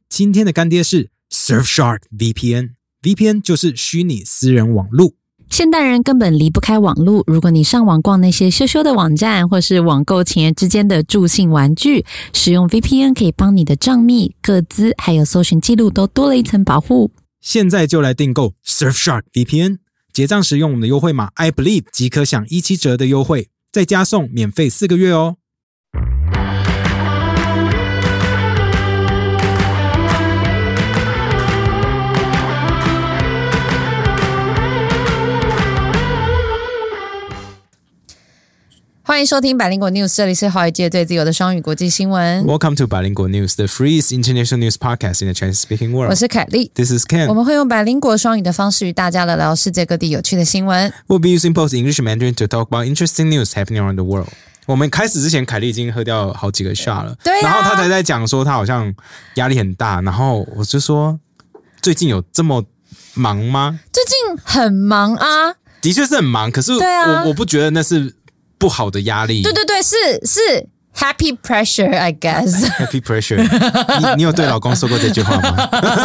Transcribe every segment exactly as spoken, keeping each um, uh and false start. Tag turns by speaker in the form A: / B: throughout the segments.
A: 今天的干爹是 Surfshark V P N。V P N 就是虚拟私人网路。
B: 现代人根本离不开网路，如果你上网逛那些羞羞的网站，或是网购情人之间的助兴玩具，使用 V P N 可以帮你的账密、个资还有搜寻记录都多了一层保护。
A: 现在就来订购 Surfshark V P N， 结账时用我们的优惠码 I believe 即可享一七折的优惠，再加送免费四个月哦。
B: 欢迎收听百灵果 News， 这里是华语界最自由的双语国际新闻。
A: Welcome to 百灵果 News, the freest international news podcast in the Chinese-speaking world.
B: 我是凯莉，
A: This is Ken.
B: 我们会用百灵果双语的方式与大家聊聊世界各地有趣的新闻。
A: We'll be using both English and Mandarin to talk about interesting news happening around the world. 我们开始之前，凯莉已经喝掉好几个 shot 了，
B: 对啊，
A: 然后他才在讲说他好像压力很大，然后我就说最近有这么忙吗？
B: 最近很忙啊，
A: 的确是很忙，可是我、啊、我不觉得那是不好的压力。
B: 对对对，是是 happy pressure I guess
A: happy pressure 你, 你有对老公说过这句话吗？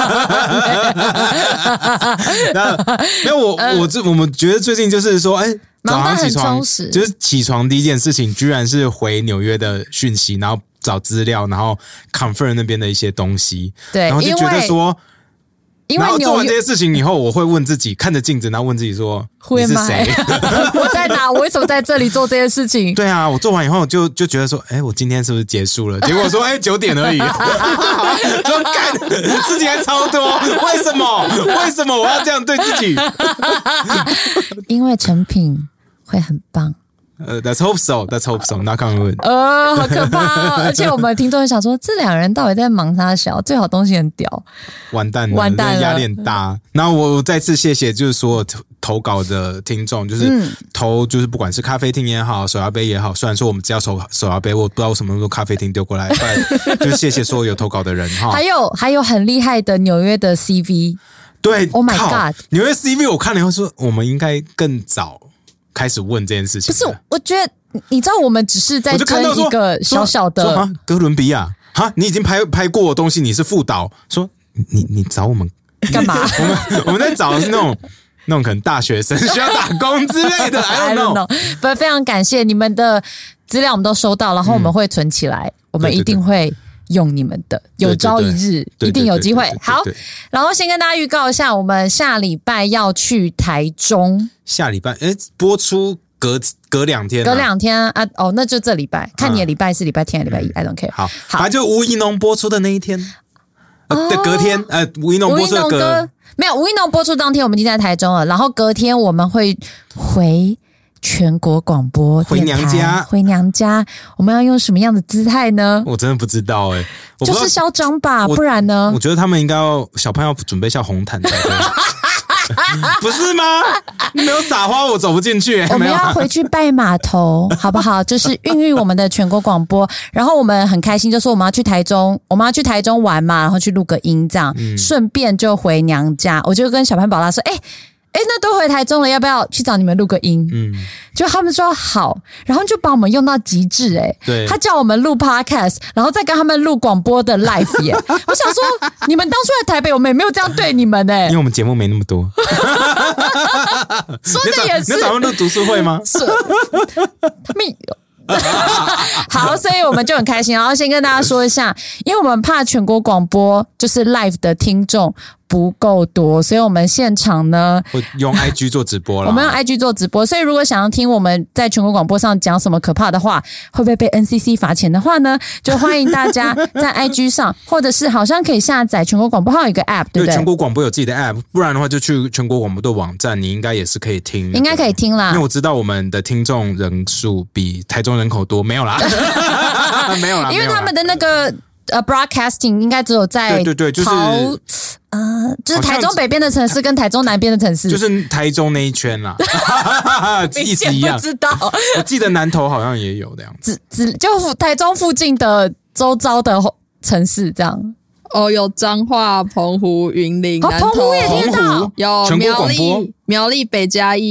A: 那没有我我我们觉得最近就是说哎，早上起床就是起床第一件事情居然是回纽约的讯息，然后找资料，然后 confirm 那边的一些东西，
B: 对，
A: 然后就觉得说
B: 因为
A: 然后做完这些事情以后，我会问自己，看着镜子，然后问自己说：“你是谁？
B: 我在哪？我为什么在这里做这些事情？”
A: 对啊，我做完以后就就觉得说：“哎，我今天是不是结束了？”结果说：“哎，九点而已。”说干事情还超多，为什么？为什么我要这样对自己？
B: 因为成品会很棒。
A: 呃、uh, ，Let's hope so. Let's hope so. Knock on wood.
B: 呃，好可怕哦！而且我们听众想说，这两人到底在忙啥小？最好东西很屌，
A: 完蛋了，
B: 完蛋了，
A: 压力很大。然后我再次谢谢，就是所有投稿的听众，就是投，就是不管是咖啡厅也好，手摇杯也好。虽然说我们只要手手摇杯，我不知道为什么那么多咖啡厅丢过来，但就是谢谢所有有投稿的人哈。
B: 还有还有很厉害的纽约的 C V，
A: 对
B: ，Oh my God，
A: 纽约 C V 我看了以后说，我们应该更早开始问这件事情。
B: 不是，我觉得你知道，我们只是在争一个小小的
A: 啊，哥伦比亚哈，你已经拍拍过的东西，你是副导，说你你找我们
B: 干嘛？
A: 我们我们在找的是那种那种可能大学生需要打工之类的 ，I don't know。
B: 不，非常感谢你们的资料，我们都收到，然后我们会存起来，嗯、我们一定会用你们的，有朝一日
A: 对对对
B: 一定有机会。
A: 对对对对对
B: 好，然后先跟大家预告一下，我们下礼拜要去台中。
A: 下礼拜哎，播出隔隔两天、啊，
B: 隔两天啊！哦，那就这礼拜，看你的礼拜是礼拜天还是礼拜一、嗯、，I don't care。
A: 好，好，反正就吴怡农播出的那一天，呃，哦、隔天，呃，吴怡农播出的隔
B: 没有，吴怡农播出当天我们已经在台中了，然后隔天我们会回全国广播
A: 回娘家，
B: 回娘家，我们要用什么样的姿态呢？
A: 我真的不知道哎、欸，
B: 就是嚣张吧，不然呢？
A: 我觉得他们应该要小朋友准备下红毯才对。不是吗？你没有撒花，我走不进去、欸。
B: 我们要回去拜码头，好不好？就是孕育我们的全国广播。然后我们很开心，就说我们要去台中，我们要去台中玩嘛，然后去录个音，这样，顺、嗯、便就回娘家。我就跟小潘宝拉说，哎、欸。哎，那都回台中了，要不要去找你们录个音？嗯，就他们说好，然后就把我们用到极致。哎，
A: 对，
B: 他叫我们录 podcast， 然后再跟他们录广播的 live 耶。我想说，你们当初来台北，我们也没有这样对你们哎，
A: 因为我们节目没那么多。
B: 说的也是，
A: 你找他们录读书会吗？
B: 是，他们有。好，所以我们就很开心。然后先跟大家说一下，因为我们怕全国广播就是 live 的听众不够多，所以我们现场呢
A: 我用 I G 做直播了。
B: 我们用 I G 做直播，所以如果想要听我们在全国广播上讲什么可怕的话，会不会被 N C C 罚钱的话呢，就欢迎大家在 I G 上，或者是好像可以下载全国广播号有一个 App， 对不对？
A: 全国广播有自己的 App， 不然的话就去全国广播的网站，你应该也是可以听、那個，
B: 应该可以听啦。
A: 因为我知道我们的听众人数比台中人口多，没有啦，没有啦，
B: 因为他们的那个呃 broadcasting 应该只有在
A: 对对对，就是
B: 呃，就是台中北边的城市跟台中南边的城市，
A: 就是台中那一圈啦，意思一样。
B: 不知道，
A: 我记得南投好像也有这样子，
B: 只只就台中附近的周遭的城市这样。
C: 哦，有彰化、澎湖、云林、
B: 哦、
C: 南投，
B: 澎湖也听到，
C: 有苗栗、苗栗北嘉义、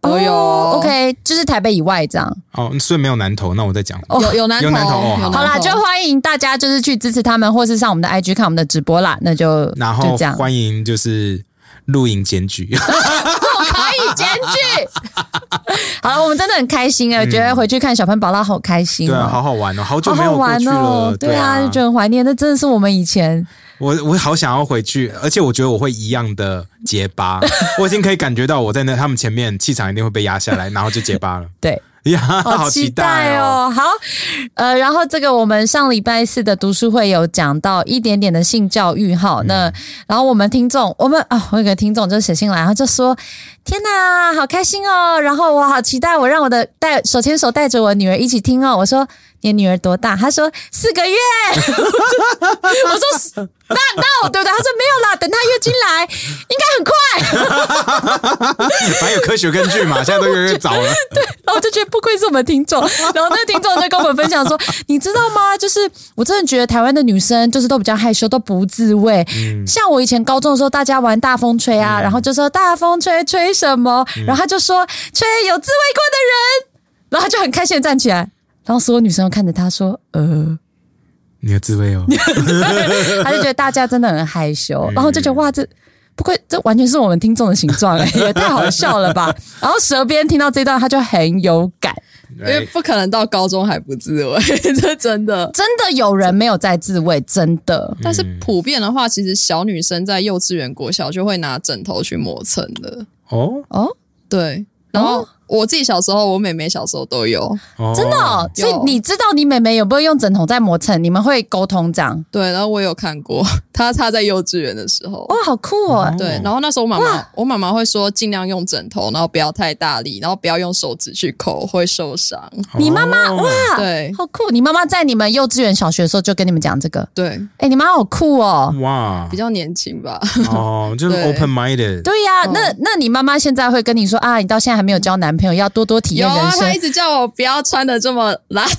C: 都有、
B: 哦、OK， 就是台北以外这样。
A: 哦，所以没有南投，那我再讲。
C: 哦、有有南投，
A: 有南投、哦、好,
B: 好啦，就欢迎大家就是去支持他们，或是上我们的 I G 看我们的直播啦。那就
A: 然后
B: 就这样，
A: 欢迎就是录影检举，
B: 我可以检举。好了，我们真的很开心哎、欸，我觉得回去看小潘宝拉好开心、哦，
A: 对啊，好好玩哦，好久没有过去了，
B: 好好玩哦、对啊，就觉得很怀念。那真的是我们以前。
A: 我我好想要回去，而且我觉得我会一样的结巴，我已经可以感觉到我在那他们前面气场一定会被压下来，然后就结巴了。
B: 对。
A: 呀，
B: 好期待
A: 哦！
B: 好，呃，然后这个我们上礼拜四的读书会有讲到一点点的性教育哈，嗯、那然后我们听众，我们啊，我有个听众就写信来，然后就说：天哪，好开心哦！然后我好期待，我让我的带手牵手带着我女儿一起听哦。我说你的女儿多大？她说四个月。我说那那对不对？她说没有啦，等她月经来应该很快。
A: 反正有科学根据嘛，现在都越来越早了。
B: 对，然后我就觉得不愧是我们听众，然后那个听众就跟我们分享说，你知道吗？就是我真的觉得台湾的女生就是都比较害羞，都不自慰。嗯、像我以前高中的时候，大家玩大风吹啊，嗯、然后就说大风吹吹什么，嗯、然后他就说吹有自慰过的人，然后他就很开心的站起来，然后所有女生都看着他说，呃。
A: 你有自慰哦。
B: 他就觉得大家真的很害羞，然后就觉得哇，这不愧这完全是我们听众的形状哎，也太好笑了吧！然后舌边听到这段，他就很有感，
C: 因为不可能到高中还不自慰，这真的
B: 真的有人没有在自慰，真的。
C: 但是普遍的话，其实小女生在幼稚园、国小就会拿枕头去磨蹭的。
A: 哦
B: 哦，
C: 对，然后。哦我自己小时候，我妹妹小时候都有，
A: 哦、
B: 真的、哦。所以你知道你妹妹有没有用枕头在磨蹭？你们会沟通这样？
C: 对，然后我有看过，她她在幼稚园的时候，
B: 哇，好酷哦！
C: 对，然后那时候我妈妈，我妈妈会说尽量用枕头，然后不要太大力，然后不要用手指去抠，会受伤。
B: 你妈妈哇，
C: 对，
B: 好酷！你妈妈在你们幼稚园、小学的时候就跟你们讲这个，
C: 对，
B: 哎、欸，你妈好酷哦！
A: 哇，
C: 比较年轻吧？
A: 哦，就是 open minded。
B: 对呀、啊，那那你妈妈现在会跟你说啊，你到现在还没有交男朋友，要多多体。
C: 有啊，他一直叫我不要穿的这么邋遢。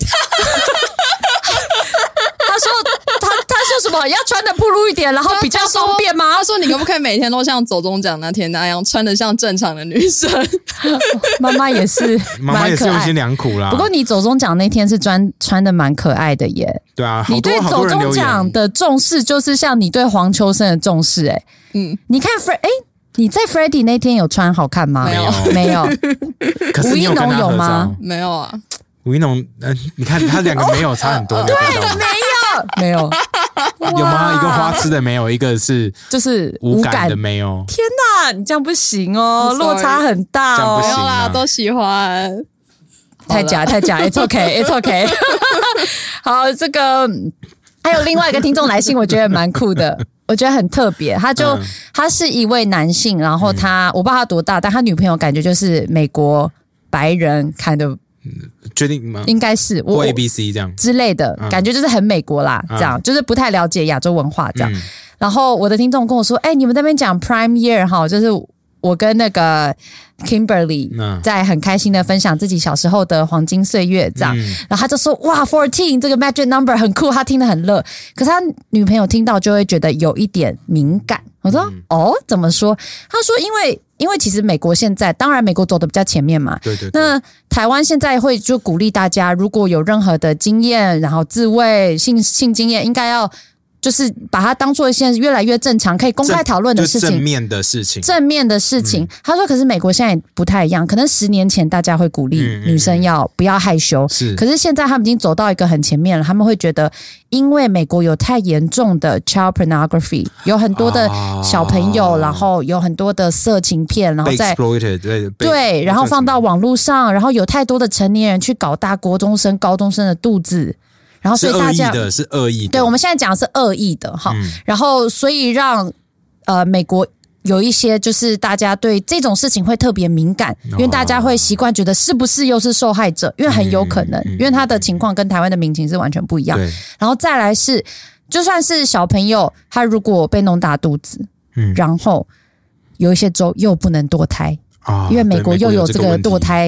B: 他说他他说什么要穿的暴露一点，然后比较方便吗？
C: 他说你可不可以每天都像走中奖那天那样穿的像正常的女生？
B: 妈妈也是，
A: 妈妈也是用心良苦啦。
B: 不过你走中奖那天是穿穿的蛮可爱的耶。
A: 对啊，
B: 你对走中奖的重视就是像你对黄秋生的重视哎、欸。嗯，你看 Fred 哎。你在 Freddie 那天有穿好看吗？
C: 没有，
B: 没有。吴一农有吗？
C: 没有啊。
A: 吴一农，呃，你看他两个没有差很多。
B: 对，没有，没有。
A: 有吗？一个花痴的没有，一个是
B: 就是
A: 无感的没有。
B: 天哪，你这样不行哦，落差很大哦。
A: 没
C: 有啦，都喜欢。
B: 太假，太假 ，It's OK, It's OK 。好，这个还有另外一个听众来信，我觉得蛮酷的。我觉得很特别，他就、嗯、他是一位男性，然后他、嗯、我不知道他多大，但他女朋友感觉就是美国白人看的，
A: 确定吗？
B: 应该是
A: 或 A B C 这样
B: 之类的、嗯、感觉，就是很美国啦，嗯、这样就是不太了解亚洲文化这样。嗯、然后我的听众跟我说：“哎、欸，你们那边讲 Prime Year 哈，就是我跟那个 Kimberly 在很开心的分享自己小时候的黄金岁月这样，嗯、然后他就说哇 fourteen 这个 magic number 很酷，他听得很乐，可是他女朋友听到就会觉得有一点敏感。我说、嗯、哦怎么说？他说因为因为其实美国现在当然美国走的比较前面嘛，
A: 对对对，
B: 那台湾现在会就鼓励大家如果有任何的经验，然后自慰性性经验应该要。就是把它当作现在越来越正常可以公开讨论的事情，
A: 正面的事情，
B: 正面的事情。嗯、他说，可是美国现在不太一样，可能十年前大家会鼓励女生要、嗯嗯、不要害羞，
A: 是，
B: 可是现在他们已经走到一个很前面了，他们会觉得，因为美国有太严重的 child pornography， 有很多的小朋友，啊、然后有很多的色情片，然后在
A: exploited， 对
B: 对，然后放到网络上，然后有太多的成年人去搞大国中生、高中生的肚子。然后所以大家
A: 是恶意的，是恶意的。
B: 对，我们现在讲的是恶意的哈。嗯、然后所以让呃美国有一些就是大家对这种事情会特别敏感，因为大家会习惯觉得是不是又是受害者，因为很有可能，嗯、因为他的情况跟台湾的民情是完全不一样。然后再来是，就算是小朋友，他如果被弄大肚子，嗯、然后有一些州又不能堕胎，哦、因为美国又有这个堕胎。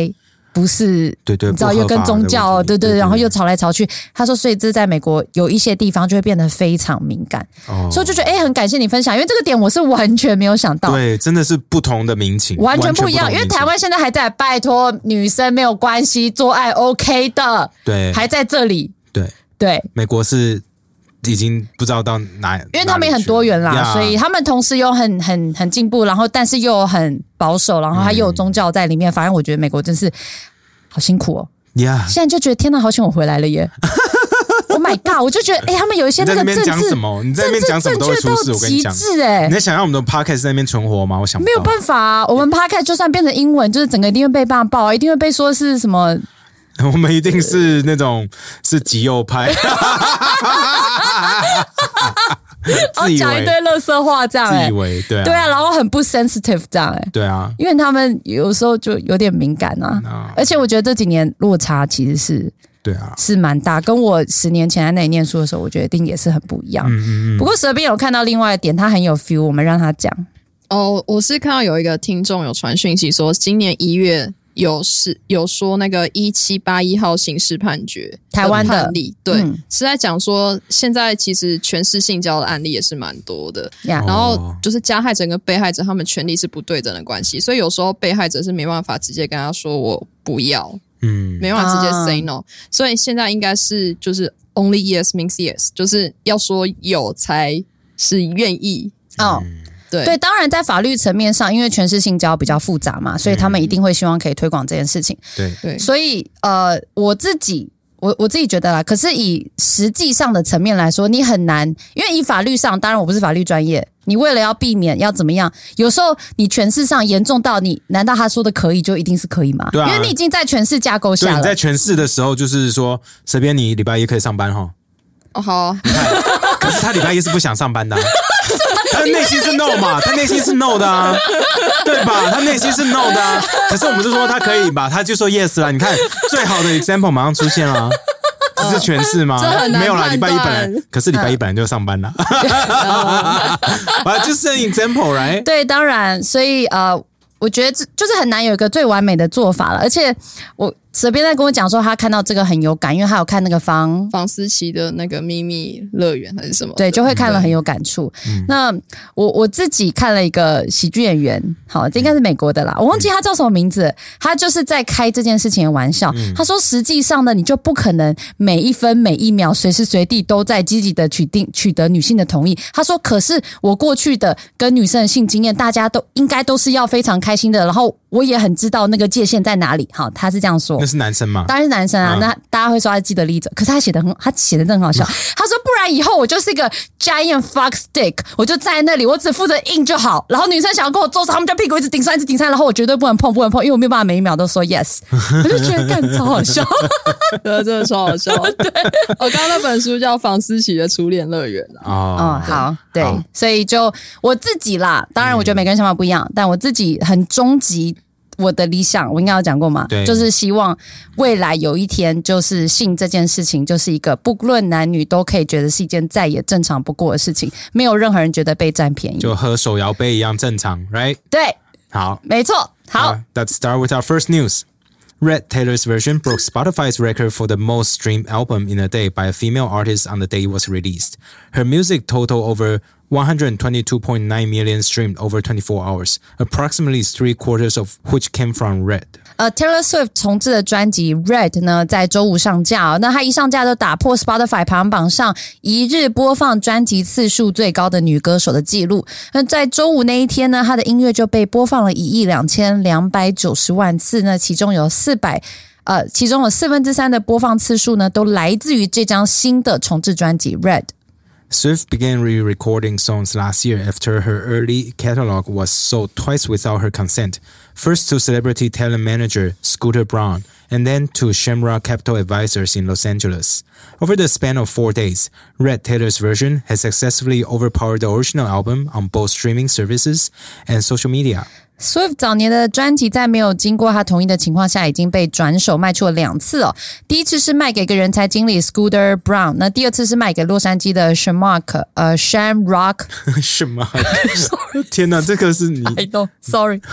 B: 不是，
A: 对对，
B: 你知道又跟宗教，对 对, 对，然后又吵来吵去。他说，所以这在美国有一些地方就会变得非常敏感，哦、所以我就觉得，哎，很感谢你分享，因为这个点我是完全没有想到。
A: 对，真的是不同的民情，
B: 完全不一样。因为台湾现在还在拜托女生没有关系，做爱 OK 的，
A: 对，
B: 还在这里，
A: 对
B: 对，
A: 美国是。已经不知道到哪，
B: 因为他们也很多元啦，所以他们同时有很很很进步，然后但是又很保守，然后还又有宗教在里面。嗯、反正我觉得美国真是好辛苦哦。
A: Yeah.
B: 现在就觉得天哪，好险我回来了耶！Oh my god！ 我就觉得哎、欸，他们有一些那个政治，
A: 你在那边讲什么？你在那边讲什么都会出事。我跟你讲，
B: 哎，
A: 你在想让我们的 podcast 在那边存活吗？我想不到
B: 没有办法啊，我们 podcast 就算变成英文，就是整个一定会被骂爆，一定会被说是什么。
A: 我们一定是那种是极右派，自以为
B: 讲一堆垃圾话这样、欸，
A: 自以为对啊，
B: 对啊，然后很不 sensitive 这样、欸，
A: 对啊，
B: 因为他们有时候就有点敏感啊，啊而且我觉得这几年落差其实是
A: 对啊
B: 是蛮大，跟我十年前在那里念书的时候，我觉得一定也是很不一样。嗯嗯嗯。不过舌边有看到另外一点，他很有 feel， 我们让他讲。
C: 哦，我是看到有一个听众有传讯息说，今年一月。有是有说那个一七八一号刑事判决
B: 台湾的
C: 判例，对、嗯，是在讲说现在其实权势性交的案例也是蛮多的，
B: yeah.
C: 然后就是加害者跟被害者他们权利是不对等的关系，所以有时候被害者是没办法直接跟他说我不要，嗯，没办法直接 say no，、啊、所以现在应该是就是 only yes means yes， 就是要说有才是愿意
B: 哦。嗯对, 对，当然在法律层面上，因为权势性交比较复杂嘛，所以他们一定会希望可以推广这件事情。
A: 对
C: 对，
B: 所以呃，我自己我我自己觉得啦，可是以实际上的层面来说，你很难，因为以法律上，当然我不是法律专业，你为了要避免要怎么样，有时候你权势上严重到你，难道他说的可以就一定是可以吗？
A: 对啊，
B: 因为你已经在权势架构下了。
A: 对，你在权势的时候，就是说，随便你礼拜一可以上班哈。
C: 哦，好、啊。
A: 可是他礼拜一是不想上班的、啊。他内心是 no 嘛，他内心是 no 的啊，对吧？他内心是 no 的啊。可是我们就说他可以吧，他就说 yes 啦。你看最好的 example 马上出现了，只是权势吗？没有啦，礼拜一本来，可是礼拜一本来就上班了。就是 an example right？
B: 对，当然，所以呃，我觉得这就是很难有一个最完美的做法了，而且我。舌边在跟我讲说他看到这个很有感，因为他有看那个房
C: 房思琪的那个秘密乐园还是什么，
B: 对，就会看了很有感触。嗯、那我我自己看了一个喜剧演员，好，这应该是美国的啦，我忘记他叫什么名字，他就是在开这件事情的玩笑。嗯、他说实际上呢，你就不可能每一分每一秒随时随地都在积极的取定取得女性的同意。他说，可是我过去的跟女生的性经验，大家都应该都是要非常开心的，然后我也很知道那个界限在哪里。好，他是这样说。
A: 那是男生吗？
B: 当然是男生啊，嗯、那大家会说他是既得利益者，可是他写的很，他写的真的很好笑。他说，不然以后我就是一个 giant fuck stick， 我就站在那里，我只负责硬就好。然后女生想要跟我做什么，他们就屁股一直顶上，一直顶上，然后我绝对不能碰，不能碰，因为我没有办法每一秒都说 yes。我就觉得干超好笑，
C: 对，真的超好笑。对，我刚刚那本书叫房思琪的初恋乐园啊。
B: 哦，好，对，好，所以就我自己啦，当然我觉得每个人想法不一样，嗯、但我自己很终极。我的理想我应该有讲过嘛，就是希望未来有一天就是性这件事情就是一个不论男女都可以觉得是一件再也正常不过的事情，没有任何人觉得被占便宜，
A: 就和手摇杯一样正常 right？
B: 对，
A: 好，
B: 没错，好、uh,
A: Let's start with our first news. Red Taylor's version broke Spotify's record for the most streamed album in a day by a female artist on the day it was released. Her music totaled over one hundred twenty-two point nine million streamed over twenty-four hours, approximately three quarters of which came from Red.
B: 呃 Taylor Swift 重制的专辑 Red 呢，在周五上架、哦、那她一上架就打破 Spotify 排行榜上一日播放专辑次数最高的女歌手的记录。那在周五那一天呢，她的音乐就被播放了一亿两千两百九十万次呢，其中有四百呃，其中有四分之三的播放次数呢，都来自于这张新的重制专辑 Red。Swift
A: began re-recording songs last year after her early catalog was sold twice without her consent, first to celebrity talent manager Scooter Braun, and then to Shamrock Capital Advisors in Los Angeles. Over the span of four days, Red Taylor's version has successfully overpowered the original album on both streaming services and social media.Swift
B: 早年的专辑在没有经过他同意的情况下已经被转手卖出了两次哦。第一次是卖给一个人才经理 Scooter Braun， 那第二次是卖给洛杉矶的 Shamrock 呃 Shamrock
A: 什么？天哪，这个是你
B: I know, sorry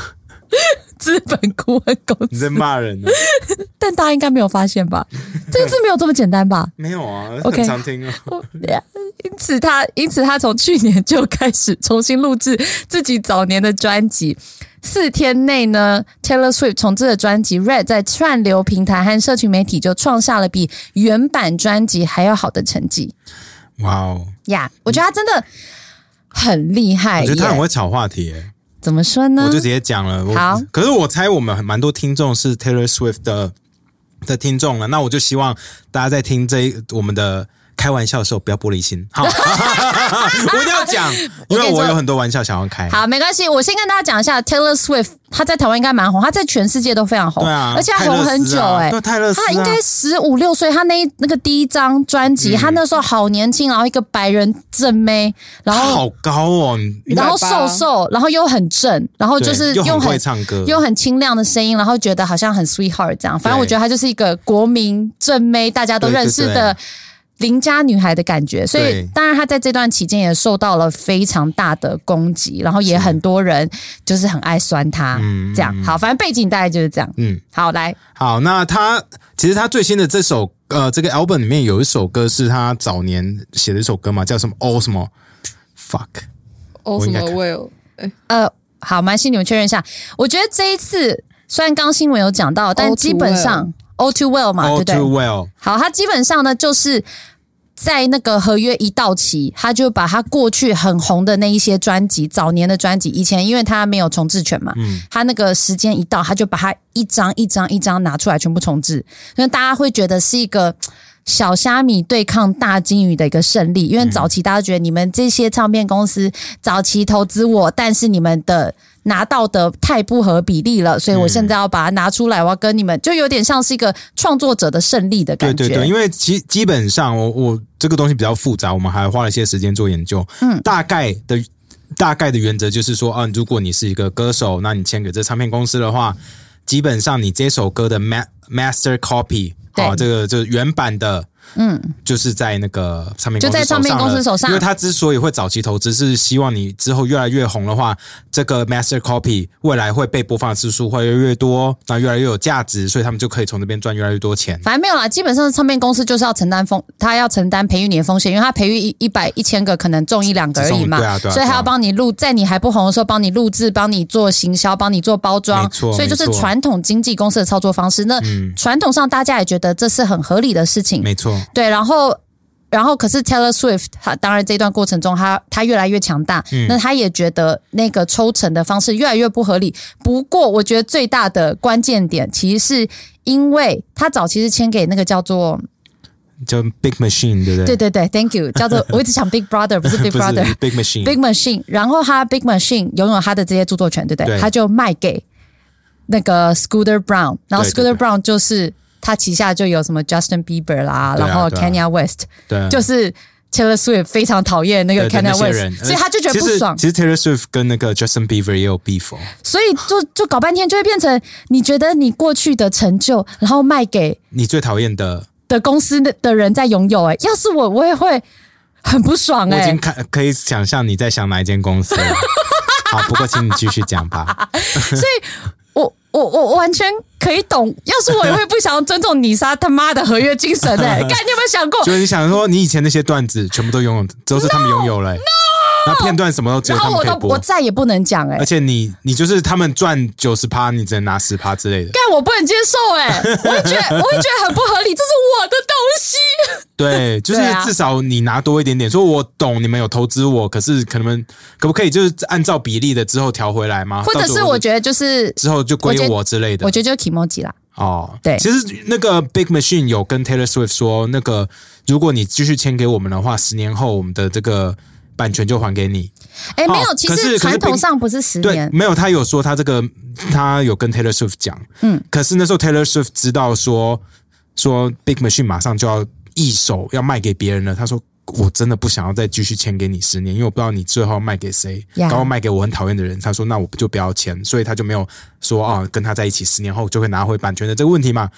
B: 资本顾问公司。
A: 你在骂人呢？
B: 但大家应该没有发现吧？这个字没有这么简单吧？
A: 没有啊，
B: okay,
A: 很常听啊。
B: 因此他，因此他从去年就开始重新录制自己早年的专辑。四天内呢 ，Taylor Swift 重制的专辑《Red》在串流平台和社群媒体就创下了比原版专辑还要好的成绩。
A: 哇哦
B: 呀，我觉得他真的很厉害耶。
A: 我觉得他很会炒话题耶。
B: 怎么说呢？
A: 我就直接讲了。
B: 好，
A: 可是我猜我们蛮多听众是 Taylor Swift 的的听众了，那我就希望大家在听这一我们的开玩笑的时候不要玻璃心。好，我一定要讲，因为我有很多玩笑想要开。
B: 好，没关系，我先跟大家讲一下 Taylor Swift， 他在台湾应该蛮红，他在全世界都非常红，
A: 对啊，
B: 而且他红很久哎、欸，
A: 对，泰勒斯、啊，
B: 他应该十五六岁，他那那个第一张专辑、嗯，他那时候好年轻，然后一个白人正妹，然后
A: 好高哦，
B: 然后瘦瘦，然后又很正，然后就是
A: 又很
B: 很
A: 会唱歌，
B: 又很清亮的声音，然后觉得好像很 sweetheart 这样，反正我觉得他就是一个国民正妹，大家都认识的。对对对，邻家女孩的感觉，所以当然她在这段期间也受到了非常大的攻击，然后也很多人就是很爱酸她，这样好，反正背景大概就是这样。嗯，好，来，
A: 好，那她其实她最新的这首呃这个 album 里面有一首歌是她早年写的一首歌嘛，叫什么 All 什么 Fuck
C: All 什么 Well，
B: 呃，好，蛮心你们确认一下，我觉得这一次虽然刚新闻有讲到，但基本上。All too well 嘛，
A: All
B: 对不对
A: too well。
B: 好，他基本上呢，就是在那个合约一到期，他就把他过去很红的那一些专辑，早年的专辑，以前因为他没有重制权嘛，嗯，他那个时间一到，他就把他一张一张一张拿出来全部重制，因为大家会觉得是一个小虾米对抗大金鱼的一个胜利，因为早期大家觉得你们这些唱片公司早期投资我，但是你们的拿到的太不合比例了，所以我现在要把它拿出来，我要跟你们，就有点像是一个创作者的胜利的感觉。
A: 对对对，因为基基本上我我这个东西比较复杂，我们还花了一些时间做研究。嗯，大概的大概的原则就是说，啊，如果你是一个歌手，那你签给这唱片公司的话，基本上你这首歌的 master copy， 啊，这个就是原版的。嗯，就是在那个唱片公司手上了，就在唱片公司手上，因为他之所以会早期投资，是希望你之后越来越红的话，这个 master copy 未来会被播放的次数会越来越多，那越来越有价值，所以他们就可以从那边赚越来越多钱。
B: 反正没有啦，基本上唱片公司就是要承担风，他要承担培育你的风险，因为他培育一一百一千个可能中一两个而已嘛，
A: 对啊对啊，
B: 所以他要帮你录，在你还不红的时候帮你录制，帮你做行销，帮你做包装，所以就是传统经纪公司的操作方式。那传统上大家也觉得这是很合理的事情，
A: 没错，
B: 对，然后。然后，可是 Taylor Swift， 他当然这段过程中他，他他越来越强大、嗯，那他也觉得那个抽成的方式越来越不合理。不过，我觉得最大的关键点，其实是因为他早期是签给那个叫做
A: 叫 Big Machine， 对不对？
B: 对对对 ，Thank you， 叫做我一直想 Big Brother， 不是 Big Brother，Big
A: Machine，Big
B: Machine。然后他 Big Machine 拥有他的这些著作权，对不对？对，他就卖给那个 Scooter Brown， 然后 Scooter Brown 就是。他旗下就有什么 Justin Bieber 啦，啊、然后 Kanye West， 对、啊，就是 Taylor Swift 非常讨厌那个 Kanye West， 所以他就觉得不爽。
A: 其实 Taylor Swift 跟那个 Justin Bieber 也有 beef，
B: 所以就就搞半天就会变成你觉得你过去的成就，然后卖给
A: 你最讨厌的
B: 的公司的的人在拥有、欸。哎，要是我，我也会很不爽哎、欸。
A: 我已经看可以想象你在想哪一间公司了。好，不过请你继续讲吧。
B: 所以。我我我完全可以懂，要是我也会不想要尊重你杀他妈的合约精神哎、欸！干，你有没有想过？
A: 就是你想说，你以前那些段子全部都拥有，都是他们拥有了、欸。No, no! 那片段什么都只有他们可以播，
B: 然后我都我再也不能讲哎、欸！
A: 而且你你就是他们赚九十趴，你只能拿十趴之类的。
B: 干，我不能接受哎、欸！我会觉得我会觉得很不合理，这是我的东西。
A: 对，就是至少你拿多一点点。说我懂你们有投资我，可是可能可不可以就是按照比例的之后调回来吗？
B: 或者是我觉得就是
A: 之后就归我之类的。
B: 我觉得就是 Kimoji 啦。
A: 哦，
B: 对，
A: 其实那个 Big Machine 有跟 Taylor Swift 说，那个如果你继续签给我们的话，十年后我们的这个版权就还给你。
B: 哎，没有，其实传统上不是十年，
A: 对，没有，他有说他这个他有跟 Taylor Swift 讲，嗯，可是那时候 Taylor Swift 知道说说 Big Machine 马上就要一手要卖给别人了，他说我真的不想要再继续签给你十年，因为我不知道你最后卖给谁，然后卖给我很讨厌的人。他说那我就不要签，所以他就没有说啊跟他在一起十年后就会拿回版权的这个问题嘛。嗯，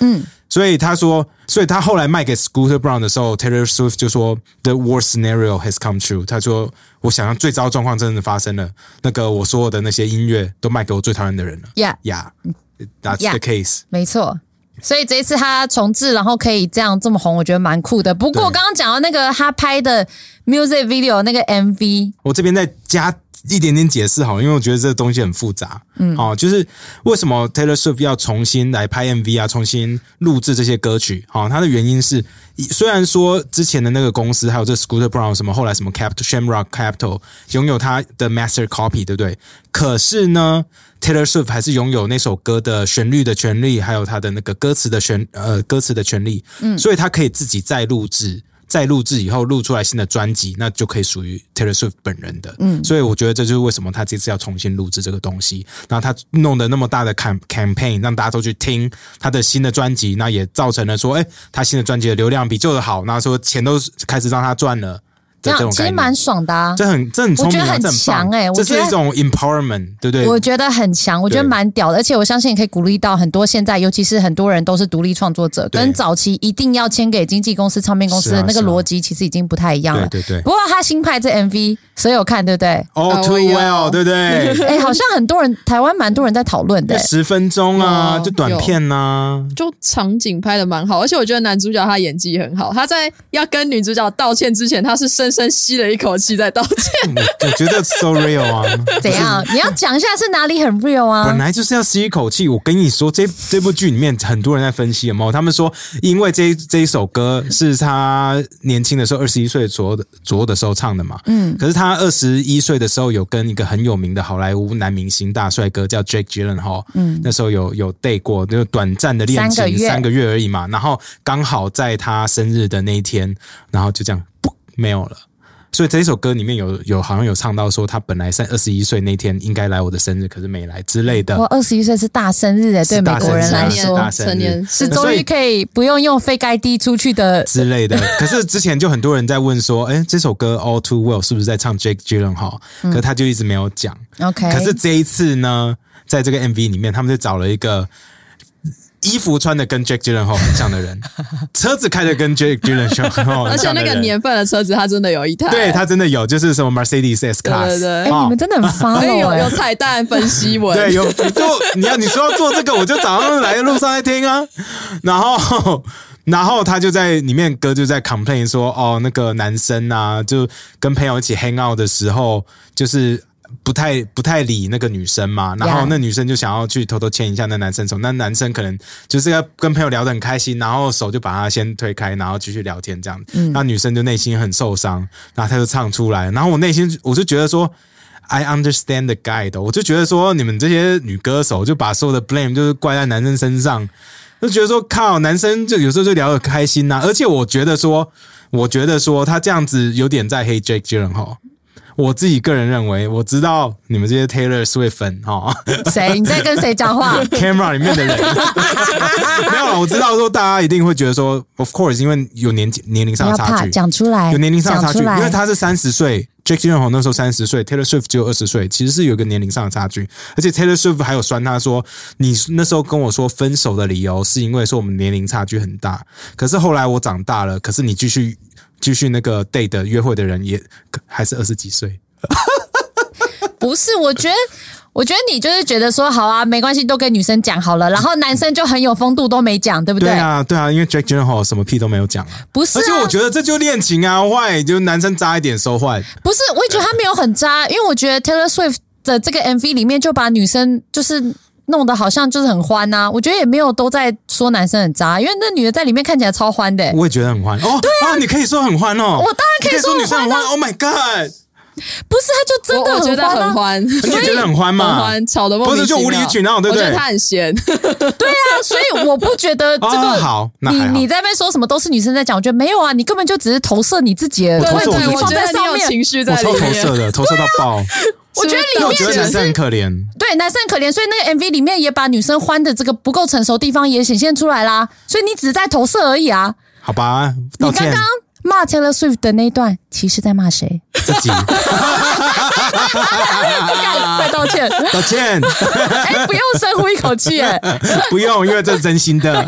A: 所以他说，所以他后来卖给 Scooter Braun 的时候 ，Taylor Swift 就说 The worst scenario has come true。他说，我想象最糟状况真的发生了，那个我所有的那些音乐都卖给我最讨厌的人了。
B: Yeah,
A: yeah, that's
B: yeah.
A: the case。
B: 没错。所以这一次他重置，然后可以这样这么红，我觉得蛮酷的。不过刚刚讲到那个他拍的 music video 那个 M V，
A: 我这边再加一点点解释好了，因为我觉得这个东西很复杂。嗯，哦，就是为什么 Taylor Swift 要重新来拍 M V 啊，重新录制这些歌曲？好、哦，它的原因是，虽然说之前的那个公司还有这 Scooter Braun 什么，后来什么 Capital Shamrock Capital 拥有它的 master copy， 对不对？可是呢 ，Taylor Swift 还是拥有那首歌的旋律的权利，还有它的那个歌词的旋呃歌词的权利。嗯，所以他可以自己再录制。再录制以后录出来新的专辑，那就可以属于 Taylor Swift 本人的。嗯，所以我觉得这就是为什么他这次要重新录制这个东西。然后他弄的那么大的 campaign， 让大家都去听他的新的专辑，那也造成了说，哎，他新的专辑的流量比旧的好，那说钱都开始让他赚了。
B: 这样其实蛮爽的啊，
A: 这很这很聪明、啊，
B: 我觉得很强哎、欸，
A: 这是一种 empowerment， 对不对？
B: 我觉得很强，我觉得蛮屌的，而且我相信可以鼓励到很多现在，尤其是很多人都是独立创作者，跟早期一定要签给经纪公司、唱片公司的那个逻辑其实已经不太一样了。
A: 对对对。
B: 不过他新拍这 M V， 所以有看对不对
A: ？All too well， 对不对？
B: 哎、欸，好像很多人台湾蛮多人在讨论的、欸，
A: 十分钟啊，就短片啊，
C: 就场景拍的蛮好，而且我觉得男主角他演技很好，他在要跟女主角道歉之前，他是深深吸了一口气在道歉。
A: 我觉得 so real 啊，
B: 怎样？你要讲一下是哪里很 real 啊？
A: 本来就是要吸一口气。我跟你说，这这部剧里面很多人在分析有没有？他们说，因为这这一首歌是他年轻的时候，二十一岁左右的左右的时候唱的嘛。嗯。可是他二十一岁的时候有跟一个很有名的好莱坞男明星大帅哥叫 Jake Gyllenhaal， 嗯，那时候有有 date 过，就短暂的恋情，三个月三个月而已嘛。然后刚好在他生日的那一天，然后就这样不没有了。所以这一首歌里面有有好像有唱到说他本来在二十一岁那天应该来我的生日，可是没来之类的。
B: 哇，二十一岁是大生日诶，对美国人来说，
C: 成年
B: 是终于可以不用用 fake I D 出去的
A: 之类的。可是之前就很多人在问说，哎，这首歌 All Too Well 是不是在唱 Jake Gyllenhaal？、嗯、可是他就一直没有讲。
B: OK，
A: 可是这一次呢，在这个 M V 里面，他们就找了一个。衣服穿的跟 Jake Gyllenhaal 很像的人，车子开的跟 Jake Gyllenhaal 很像的人，
C: 而且那个年份的车子他真的有一台，
A: 对他真的有，就是什么 Mercedes S-Class，
C: 对对对，
B: 哎、欸，你们真的很发了，
C: 有有彩蛋分析文，
A: 对，有就你要你说要做这个，我就早上来的路上在听啊，然后。然后他就在里面歌就在 complain 说，哦，那个男生啊，就跟朋友一起 hang out 的时候，就是不太不太理那个女生嘛，然后那女生就想要去偷偷牵一下那男生手，那男生可能就是要跟朋友聊得很开心，然后手就把他先推开，然后继续聊天这样，嗯，那女生就内心很受伤，然后他就唱出来，然后我内心我就觉得说。I understand the guy 的，我就觉得说你们这些女歌手就把所有的 blame 就是怪在男生身上，就觉得说靠，男生就有时候就聊得开心呐、啊，而且我觉得说，我觉得说他这样子有点在黑 Jake Gyllenhaal。我自己个人认为，我知道你们这些 Taylor Swift 粉哈，
B: 谁？你在跟谁讲话
A: ？Camera 里面的人没有了。我知道说大家一定会觉得说 ，Of course， 因为有年年龄上的差距，
B: 讲出来，
A: 有年龄上的差距，因为他是三十岁 ，Jake Gyllenhaal 那时候三十岁 ，Taylor Swift 只有二十岁，其实是有一个年龄上的差距。而且 Taylor Swift 还有酸他说，你那时候跟我说分手的理由是因为说我们年龄差距很大，可是后来我长大了，可是你继续。继续那个 date 的约会的人也还是二十几岁，
B: 不是？我觉得，我觉得你就是觉得说，好啊，没关系，都跟女生讲好了，然后男生就很有风度，都没讲，对不对？
A: 对啊，对啊，因为 Jake Gyllenhaal 什么屁都没有讲啊，
B: 不是、啊？
A: 而且我觉得这就恋情啊，坏就男生渣一点收坏，
B: 不是？我也觉得他没有很渣，因为我觉得 Taylor Swift 的这个 M V 里面就把女生就是弄得好像就是很欢啊，我觉得也没有都在说男生很渣，因为那女的在里面看起来超欢的、欸。
A: 我也觉得很欢哦，对啊，啊你可以说很欢哦，
B: 我当然可以说
A: 女生很欢 ，Oh my God！
B: 不是，他就真的很欢、啊，
C: 我觉得很欢，
A: 你觉得很欢吗？
C: 很欢，吵得莫名其妙，
A: 不是就无理取闹，对不对？
C: 我觉得他很闲，
B: 对啊，所以我不觉得这个、
A: 哦、好，那还好
B: 你你在那边说什么都是女生在讲，我觉得没有啊，你根本就只是投射你自己的问题放在上面，
C: 情绪在里面，
A: 我超投射的，投射到爆。
B: 我觉得里面
A: 我觉得男生很可怜，
B: 对，男生很可怜，所以那个 M V 里面也把女生欢的这个不够成熟的地方也显现出来啦，所以你只是在投射而已啊。
A: 好吧，道歉。
B: 你刚刚骂 Taylor Swift 的那一段，其实在骂谁？
A: 自己。
B: 不敢快道歉，
A: 道歉。
B: 哎、欸，不用深呼一口气，哎，
A: 不用，因为这是真心的。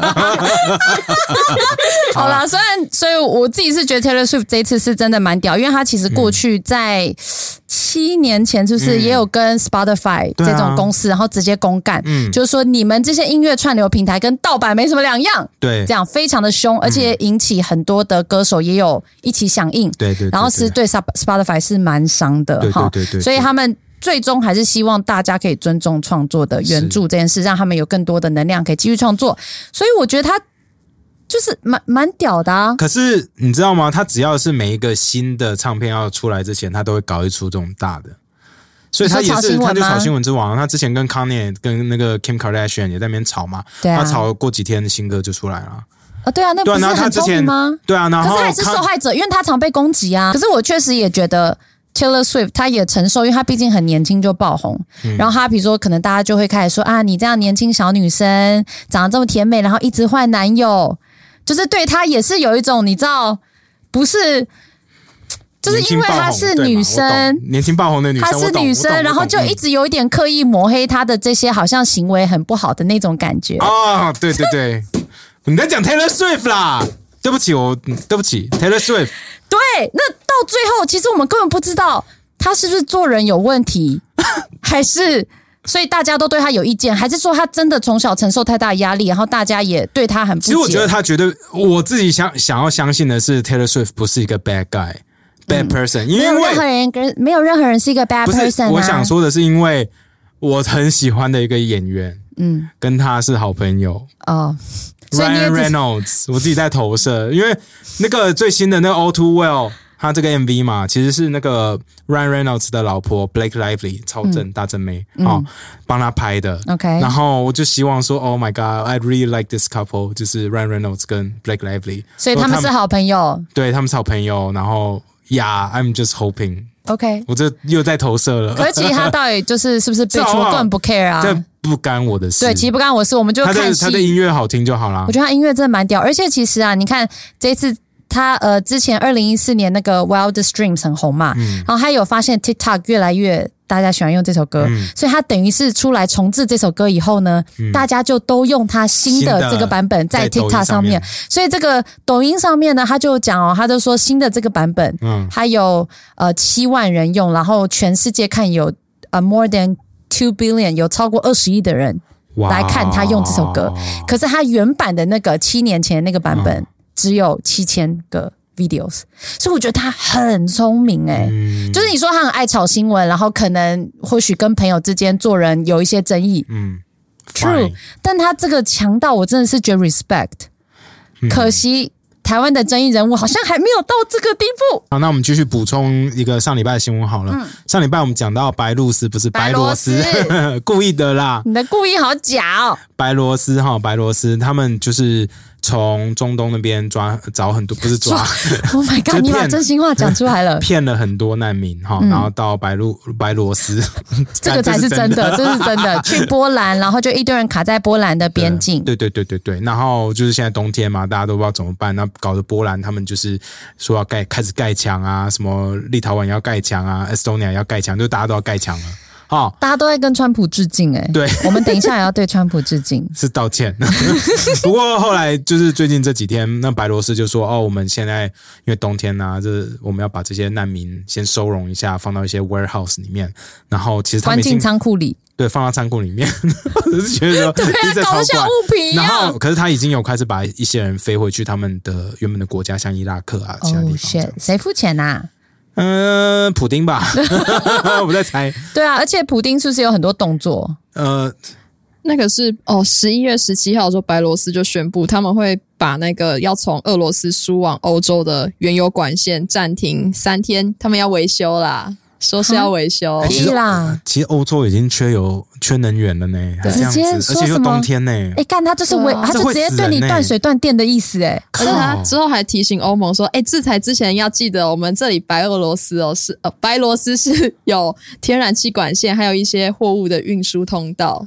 B: 好啦，虽然所以我自己是觉得 Taylor Swift 这一次是真的蛮屌，因为他其实过去在七年前是不是也有跟 Spotify 这种公司，嗯、然后直接公干，嗯、就是说你们这些音乐串流平台跟盗版没什么两样，
A: 对，
B: 这样非常的凶，而且引起很多的歌手也有一起响应，
A: 对 对, 对, 对，
B: 然后是对 Spotify 是蛮伤的，
A: 对对 对, 对, 对, 对，
B: 所以他们最终还是希望大家可以尊重创作的原著这件事，让他们有更多的能量可以继续创作，所以我觉得他就是蛮蛮屌的啊。
A: 可是你知道吗？他只要是每一个新的唱片要出来之前，他都会搞一出这种大的，所以他也是他就炒新闻之王。他之前跟 Kanye 跟那个 Kim Kardashian 也在那边吵嘛，
B: 对啊，
A: 他吵过几天新歌就出来了。
B: 哦，对啊，那不是很聪明吗？
A: 对啊，然后
B: 可是他也是受害者，因为他常被攻击啊。可是我确实也觉得 Taylor Swift 他也承受，因为他毕竟很年轻就爆红，嗯、然后他比如说可能大家就会开始说啊，你这样年轻小女生长得这么甜美，然后一直换男友，就是对他也是有一种你知道不是。就是因为她是女生，
A: 年轻爆红的女生，
B: 她是女生，然后就一直有一点刻意抹黑她的这些好像行为很不好的那种感觉。
A: 哦，对对对，你在讲 Taylor Swift 啦，对不起，我对不起 Taylor Swift。
B: 对，那到最后，其实我们根本不知道她是不是做人有问题，还是所以大家都对她有意见，还是说她真的从小承受太大压力，然后大家也对她很不解。
A: 其实我觉得她绝对，我自己想想要相信的是 Taylor Swift 不是一个 bad guy。Bad person，、嗯、因为
B: 没有任何人跟没有任何人是一个 bad person、啊。
A: 我想说的是，因为我很喜欢的一个演员，嗯，跟他是好朋友哦。Ryan Reynolds， 我自己在投射，因为那个最新的那个 All Too Well， 他这个 M V 嘛，其实是那个 Ryan Reynolds 的老婆 Blake Lively 超正、嗯、大正妹哦，帮他拍的。
B: OK，
A: 然后我就希望说 ，Oh my God，I really like this couple， 就是 Ryan Reynolds 跟 Blake Lively，
B: 所以他们是好朋友，
A: 对，他们是好朋友，然后。Yeah, I'm just hoping.
B: OK，
A: 我这又在投射了。
B: 可是其实他到底就是是不是被出根本不 care 啊？
A: 这不干我的事。
B: 对，其实不干我的事，我们就看戏。
A: 他的他的音乐好听就好啦。
B: 我觉得他音乐真的蛮屌，而且其实啊，你看这次他呃之前二零一四年那个 Wildest Dreams 很红嘛，嗯、然后他有发现 TikTok 越来越大家喜欢用这首歌，嗯、所以他等于是出来重制这首歌以后呢，嗯、大家就都用他新的这个版本在 TikTok 上面，所以这个抖音上面呢，他就讲哦，他就说新的这个版本，嗯，还有呃七万人用，然后全世界看有呃 more than two billion 有超过二十亿的人来看他用这首歌，可是他原版的那个七年前的那个版本只有七千个。videos， 所以我觉得他很聪明哎、欸嗯，就是你说他很爱炒新闻，然后可能或许跟朋友之间做人有一些争议，嗯 ，true， 但他这个强到我真的是觉得 respect，、嗯、可惜台湾的争议人物好像还没有到这个地步。
A: 好，那我们继续补充一个上礼拜的新闻好了。嗯、上礼拜我们讲到白露丝不是白罗斯，故意的啦，
B: 你的故意好假哦。
A: 白罗斯哈，白罗斯他们就是。从中东那边抓找很多，不是抓
B: ，Oh my God！ 你把真心话讲出来了，
A: 骗了很多难民哈、嗯，然后到白露白罗斯，
B: 这个才是真的，这是真的。去波兰，然后就一堆人卡在波兰的边境，
A: 对对对对对。然后就是现在冬天嘛，大家都不知道怎么办，那搞得波兰他们就是说要盖开始盖墙啊，什么立陶宛要盖墙啊 ，Estonia 要盖墙，就大家都要盖墙了。哦，
B: 大家都在跟川普致敬哎、欸，
A: 对，
B: 我们等一下也要对川普致敬，
A: 是道歉。不过后来就是最近这几天，那白罗斯就说哦，我们现在因为冬天啊，这我们要把这些难民先收容一下，放到一些 warehouse 里面，然后其实他们
B: 关进仓库里，
A: 对，放到仓库里面，我是觉得说，
B: 对啊，搞像物品一样。
A: 然后，可是他已经有开始把一些人飞回去他们的原本的国家，像伊拉克啊，其他地方。
B: 哦，谁付钱啊？
A: 嗯、呃，普丁吧，我在猜。
B: 对啊，而且普丁是不是有很多动作？
C: 呃，那个是哦，十一月十七号的时候，白罗斯就宣布他们会把那个要从俄罗斯输往欧洲的原油管线暂停三天，他们要维修啦。说是要维修，
A: 欸、其实啦，其实欧洲已经缺油、缺能源了呢，还这样子，而且又冬天呢。
B: 哎，干他就是维，他就直接对你断水断电的意思哎。
C: 可是他之后还提醒欧盟说，哎，制裁之前要记得，我们这里白俄罗斯哦是呃白罗斯是有天然气管线，还有一些货物的运输通道。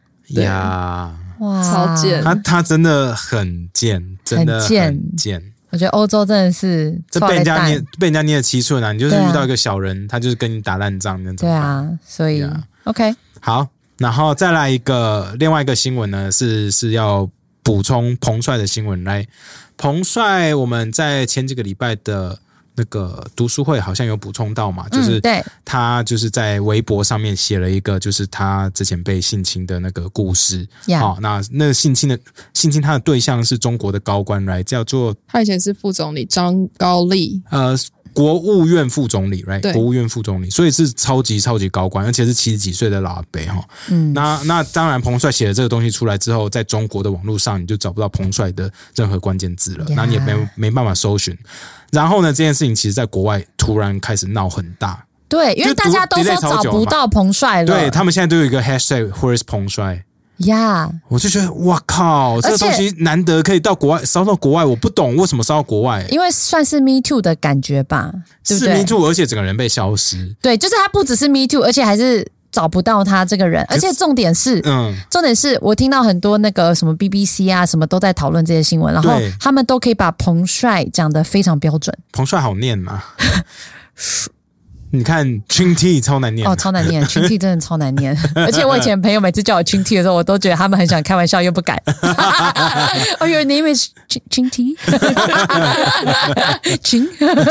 A: 呀，
B: 哇，
C: 超贱！
A: 他他真的很贱，真的很贱。
B: 我觉得欧洲真的是
A: 这被人家捏被人家捏了七寸啊！你就是遇到一个小人，啊、他就是跟你打烂仗那种。
B: 对啊，所以、yeah. OK
A: 好，然后再来一个另外一个新闻呢，是是要补充彭帅的新闻来。彭帅，我们在前几个礼拜的那个读书会好像有补充到嘛，就是他就是在微博上面写了一个，就是他之前被性侵的那个故事。
B: Yeah.
A: 哦，那那个性侵的性侵他的对象是中国的高官来，叫做
C: 他以前是副总理张高丽，
A: 呃，国务院副总理 ，right？ 国务院副总理，所以是超级超级高官，而且是七十几岁的老阿伯哈。嗯，那那当然，彭帅写了这个东西出来之后，在中国的网络上你就找不到彭帅的任何关键字了， yeah. 那你也没没办法搜寻。然后呢，这件事情其实在国外突然开始闹很大。
B: 对，因为大家都说找不到彭帅了。
A: 对，他们现在都有一个 hashtag Where is 彭帅
B: 呀，
A: yeah. 我就觉得哇靠，这个东西难得可以到国外烧到国外，我不懂为什么烧到国外，
B: 因为算是 Me Too 的感觉吧，对不对？
A: 是 Me Too， 而且整个人被消失。
B: 对，就是他不只是 Me Too， 而且还是找不到他这个人，而且重点是，嗯，重点是我听到很多那个什么 B B C 啊，什么都在讨论这些新闻，然后他们都可以把彭帅讲得非常标准。
A: 彭帅好念嘛？你看 Chinty 超难念
B: 哦，超难念 Chinty 真的超难念，而且我以前朋友每次叫我 Chinty 的时候，我都觉得他们很想开玩笑又不敢。Oh, your name is Chinty? Chin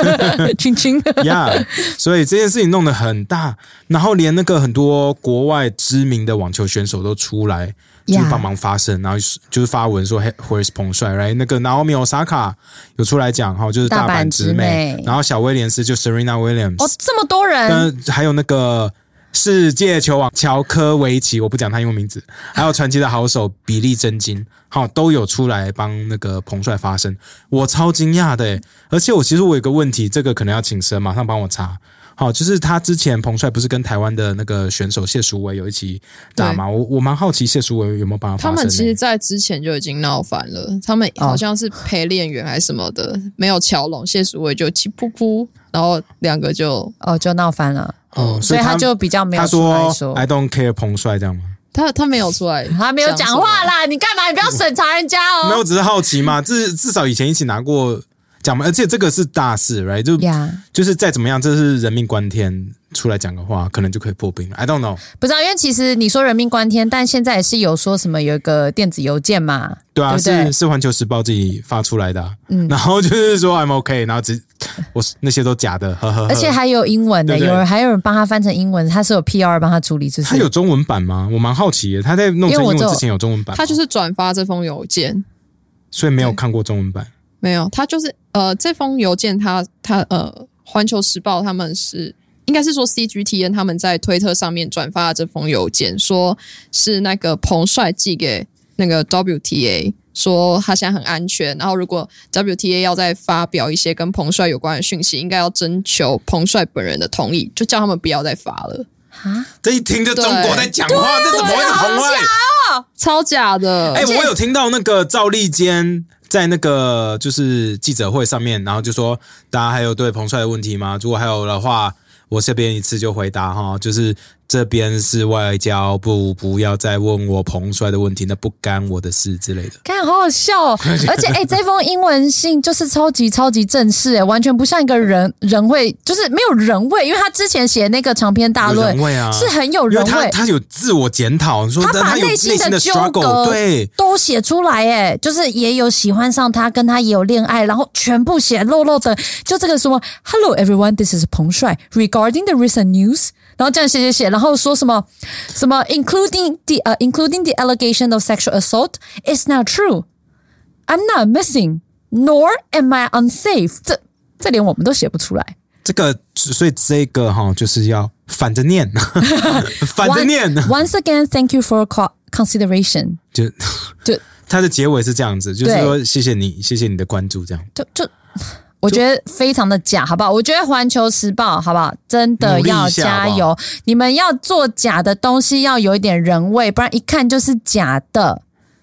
B: Chin Chin
A: Yeah， 所以这件事情弄得很大，然后连那个很多国外知名的网球选手都出来。就是帮忙发声， yeah. 然后就是发文说 Where is 彭帅 right？ 那个 Naomi Osaka 有出来讲哈，就是大阪直美，然后小威廉斯就 Serena Williams，
B: 哦，这么多人，
A: 还有那个世界球王乔科维奇，我不讲他英文名字，还有传奇的好手比利真金，好都有出来帮那个彭帅发声，我超惊讶的耶，而且我其实我有个问题，这个可能要请神马上帮我查。好，就是他之前彭帅不是跟台湾的那个选手谢淑薇有一起打吗？我我蛮好奇谢淑薇有没有帮他发声。
C: 他们其实在之前就已经闹翻了，他们好像是陪练员还是什么的，哦、没有乔拢，谢淑薇就气噗噗，然后两个就
B: 哦就闹翻了。
A: 哦，
B: 所以他就比较没有出来说。
A: 他说 I don't care 彭帅这样吗？
C: 他他没有出来，
B: 他没有讲话啦，你干嘛？你不要审查人家哦。
A: 没有，只是好奇嘛，至至少以前一起拿过。讲嘛，而且这个是大事 ，right？ 就、yeah. 就是再怎么样，这是人命关天，出来讲个话，可能就可以破冰了。I don't know，
B: 不知道，因为其实你说人命关天，但现在也是有说什么有一个电子邮件嘛，
A: 对啊，
B: 对对
A: 是是环球时报自己发出来的、啊，嗯，然后就是说 I'm OK， 然后只我那些都假的，呵呵呵，
B: 而且还有英文的，对对，有人还有人帮他翻成英文，他是有 P R 帮他处理，就是
A: 他有中文版吗？我蛮好奇的，他在弄成英文之前有中文版吗？
C: 他就是转发这封邮件，
A: 所以没有看过中文版。
C: 没有，他就是呃，这封邮件他他呃，环球时报他们是应该是说 C G T N 他们在推特上面转发了这封邮件，说是那个彭帅寄给那个 W T A， 说他现在很安全，然后如果 W T A 要再发表一些跟彭帅有关的讯息，应该要征求彭帅本人的同意，就叫他们不要再发了。
B: 啊！
A: 这一听就中国在讲话，这怎么会是彭帅？
C: 超假的！
A: 哎、欸，我有听到那个赵立坚。在那个就是记者会上面，然后就说大家还有对彭帅的问题吗？如果还有的话，我这边一次就回答哈，就是这边是外交部，不要再问我彭帅的问题，那不干我的事之类的。
B: 看，好好笑哦！而且，哎、欸，这封英文信就是超级超级正式，哎，完全不像一个人人味，就是没有人味，因为他之前写那个长篇大论，
A: 人味啊，
B: 是很有人味。
A: 他他有自我检讨，说
B: 他把内心的纠葛
A: 对
B: 都写出来，哎，就是也有喜欢上他，跟他也有恋爱，然后全部写漏漏的，就这个什么 ，Hello everyone, this is 彭帅 regarding the recent news。然后这样写写写，然后说什么什么 including the 呃、uh, including the allegation of sexual assault is not true. I'm not missing, nor am I unsafe. 这这连我们都写不出来。
A: 这个所以这个哈就是要反着念，反着念。
B: Once again, thank you for consideration.
A: 就
B: 就
A: 它的结尾是这样子，就是说谢谢你，谢谢你的关注，这样。
B: 就就。我觉得非常的假，好不好？我觉得环球时报，好不好？真的要加油！好好你们要做假的东西，要有一点人味，不然一看就是假的，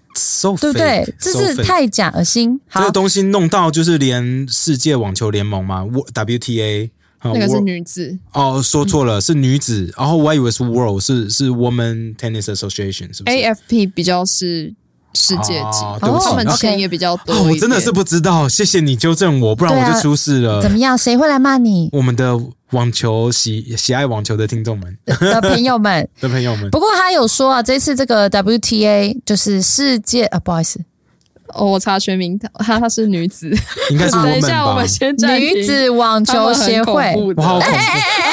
A: so
B: 对不对？这是太假恶心。
A: 这个东西弄到就是连世界网球联盟嘛 ，W T A
C: 那个是女子
A: 哦，说错了，嗯、是女子。然后我还以为是 World， 是是 Women Tennis Association， 是不是
C: ？A F P 比较是世界级，
A: 哦、对不起，
C: 他们钱也比较多、
A: 哦。我真的是不知道，谢谢你纠正我，不然我就出事了。
B: 啊、怎么样？谁会来骂你？
A: 我们的网球喜喜爱网球的听众们
B: 的朋友们
A: 的朋友们。
B: 不过他有说啊，这次这个 W T A 就是世界啊，不好意思。
C: 哦，我查全名，她她是女子，
A: 应该是我们吧。
C: 等一下，我们先暂停。
B: 女子网球协会，
A: 我好恐怖！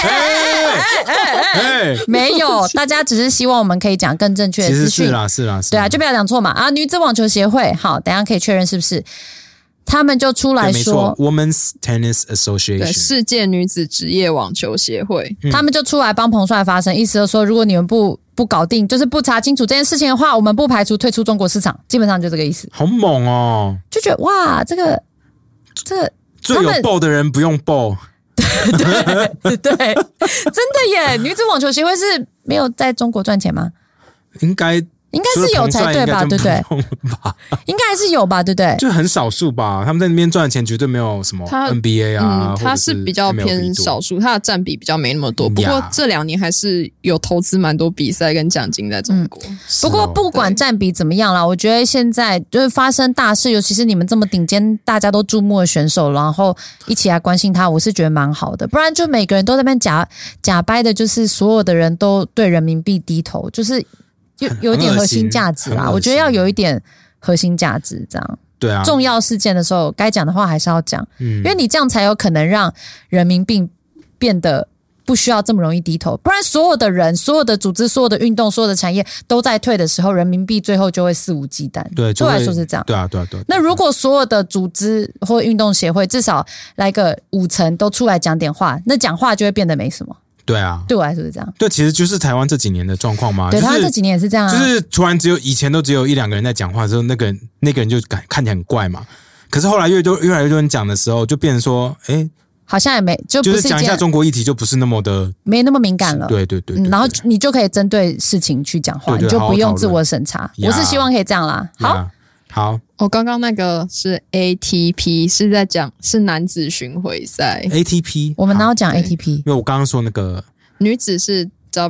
A: 哎，
B: 没有，大家只是希望我们可以讲更正确的资讯。
A: 是啦，是啦，是
B: 对啊，就不要讲错嘛。啊，女子网球协会，好，等一下可以确认是不是？他们就出来说
A: ，Women's Tennis Association，
C: 对，世界女子职业网球协会，
B: 嗯、他们就出来帮彭帅发声，意思就是说，如果你们不不搞定，就是不查清楚这件事情的话，我们不排除退出中国市场，基本上就这个意思。
A: 好猛哦！
B: 就觉得哇，这个这个
A: 最有 ball 的人不用 ball，
B: 对对，真的耶！女子网球协会是没有在中国赚钱吗？
A: 应该。
B: 应该是有才对吧？对不对？应该还是有吧？对不对？
A: 就很少数吧。他们在那边赚的钱绝对没有什么 N B A 啊，
C: 嗯，他是比较偏少数，他的占比比较没那么多。不过这两年还是有投资蛮多比赛跟奖金在中国。
B: 嗯、不过不管占比怎么样啦，我觉得现在就是发生大事，尤其是你们这么顶尖、大家都注目的选手，然后一起来关心他，我是觉得蛮好的。不然就每个人都在那边假假掰的，就是所有的人都对人民币低头，就是。有有一点核心价值啦，我觉得要有一点核心价值，这样
A: 对啊。
B: 重要事件的时候，该讲的话还是要讲，嗯，因为你这样才有可能让人民币变得不需要这么容易低头，不然所有的人、所有的组织、所有的运动、所有的产业都在退的时候，人民币最后就会肆无忌惮。
A: 对，
B: 对我来说是这样。
A: 对啊，对啊，对啊。
B: 那如果所有的组织或运动协会至少来个五成都出来讲点话，那讲话就会变得没什么。
A: 对啊，
B: 对我来说是这样。
A: 对，其实就是台湾这几年的状况嘛。
B: 对，
A: 就是、
B: 台湾这几年也是这样啊。
A: 就是突然只有以前都只有一两个人在讲话的时候，那个人那个人就感看起来很怪嘛。可是后来越多越来越多人讲的时候，就变成说，哎，
B: 好像也没就不是
A: 就是讲一下中国议题，就不是那么的
B: 没那么敏感了。
A: 对对 对, 对, 对, 对、
B: 嗯，然后你就可以针对事情去讲话，
A: 对对
B: 你就不用自我审查。我是希望可以这样啦。好。
A: 好，
C: 我、哦、刚刚那个是 A T P， 是在讲是男子巡回赛
A: A T P，
B: 我们哪有讲 A T P？
A: 因为我刚刚说那个
C: 女子是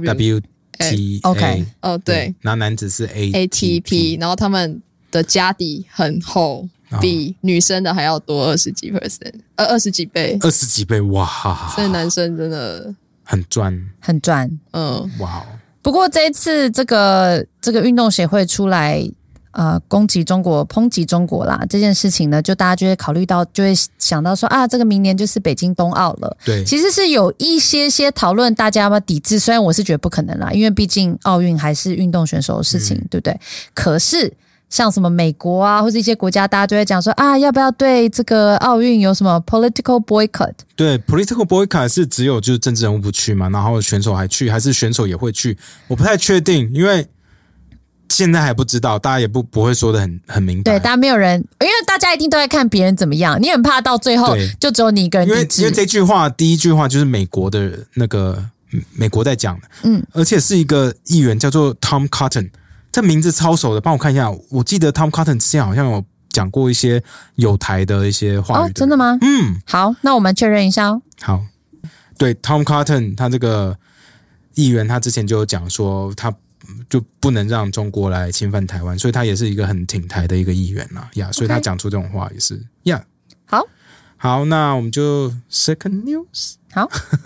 C: W
A: T
B: A，
C: 哦对，
A: 然后男子是 A
C: A T P， 然后他们的家底很厚，比女生的还要多二十几 percent， 呃二十几倍，
A: 二十几倍，哇！
C: 所以男生真的
A: 很赚，
B: 很赚，
C: 嗯，
A: 哇！
B: 不过这一次这个这个运动协会出来。呃，攻击中国、抨击中国啦，这件事情呢，就大家就会考虑到，就会想到说啊，这个明年就是北京冬奥了。
A: 对，
B: 其实是有一些些讨论，大家要不要抵制？虽然我是觉得不可能啦，因为毕竟奥运还是运动选手的事情，嗯、对不对？可是像什么美国啊，或者一些国家，大家就会讲说啊，要不要对这个奥运有什么 political boycott？
A: 对 ，political boycott 是只有就是政治人物不去嘛，然后选手还去，还是选手也会去？我不太确定，因为。现在还不知道，大家也不不会说的很很明白。
B: 对，大家没有人，因为大家一定都在看别人怎么样，你很怕到最后就只有你一个人抵制。
A: 因为因为这句话第一句话就是美国的那个美国在讲的，
B: 嗯，
A: 而且是一个议员叫做 Tom Cotton， 这名字超熟的，帮我看一下。我记得 Tom Cotton 之前好像有讲过一些友台的一些话语。
B: 哦，真的吗？
A: 嗯，
B: 好，那我们确认一下哦。
A: 好，对 Tom Cotton 他这个议员，他之前就有讲说他。就不能让中国来侵犯台湾，所以他也是一个很挺台的一个议员啦，呀、yeah, ，所以他讲出这种话也是呀。Yeah.
B: 好，
A: 好，那我们就 second news。
B: 好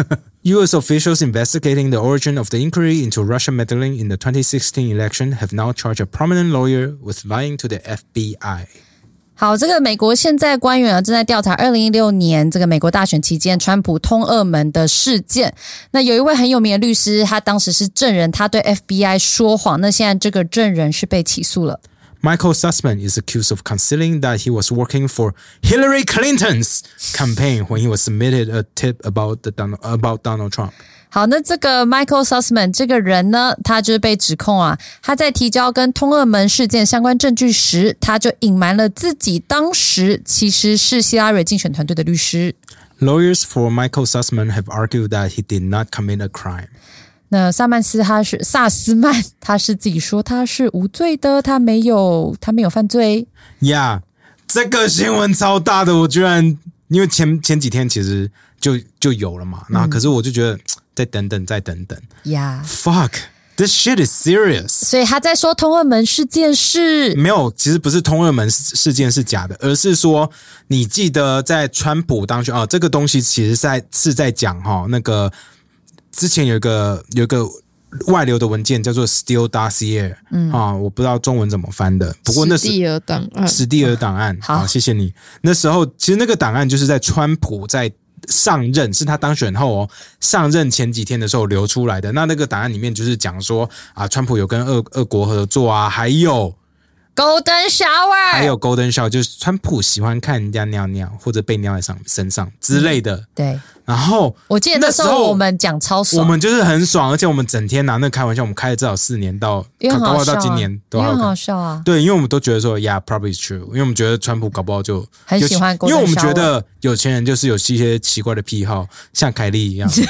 A: ，U S officials investigating the origin of the inquiry into Russian meddling in the twenty sixteen election have now charged a prominent lawyer with lying to the F B I。
B: 好，这个美国现在官员啊正在调查二零一六年这个美国大选期间川普通俄门的事件。那有一位很有名的律师，他当时是证人，他对 F B I 说谎。那现在这个证人是被起诉了。
A: Michael Sussman is accused of concealing that he was working for Hillary Clinton's campaign when he was submitted a tip about the Donald, about Donald Trump。
B: 好，那这个 Michael Sussman 这个人呢，他就是被指控啊，他在提交跟通俄门事件相关证据时，他就隐瞒了自己当时其实是希拉蕊竞选团队的律师。
A: Lawyers for Michael Sussman have argued that he did not commit a crime。
B: 那萨曼斯他是萨斯曼，他是自己说他是无罪的，他没有他没有犯罪。
A: 呀、yeah, 这个新闻超大的，我居然因为前前几天其实就就有了嘛，然后可是我就觉得、嗯、再等等再等等
B: 呀、yeah.
A: fuck。 This shit is serious。
B: 所以他在说通俄门事件是
A: 没有，其实不是通俄门事件是假的，而是说你记得在川普当选哦，这个东西其实在是在讲哈、哦，那个之前有一个有一个外流的文件叫做 Steele Dossier， 嗯啊，我不知道中文怎么翻的，不过那是
C: 史蒂尔档案，
A: 史蒂尔档案。
B: 好，
A: 谢谢你。那时候其实那个档案就是在川普在上任，是他当选后哦，上任前几天的时候流出来的。那那个档案里面就是讲说啊，川普有跟俄俄国合作啊，还有
B: Golden Shower，
A: 还有 Golden Shower， 就是川普喜欢看人家尿尿或者被尿在上身上之类的。
B: 嗯、对。
A: 然后
B: 我记得那时候我们讲超爽，
A: 我们就是很爽，而且我们整天拿那个开玩笑，我们开了至少四年到，搞不好到今年都
B: 很好笑啊。
A: 对，因为我们都觉得说 ，Yeah, probably true， 因为我们觉得川普搞不好就
B: 很喜欢 Golden Shower，
A: 因为我们觉得有钱人就是有一些奇怪的癖好，像凯莉一样。因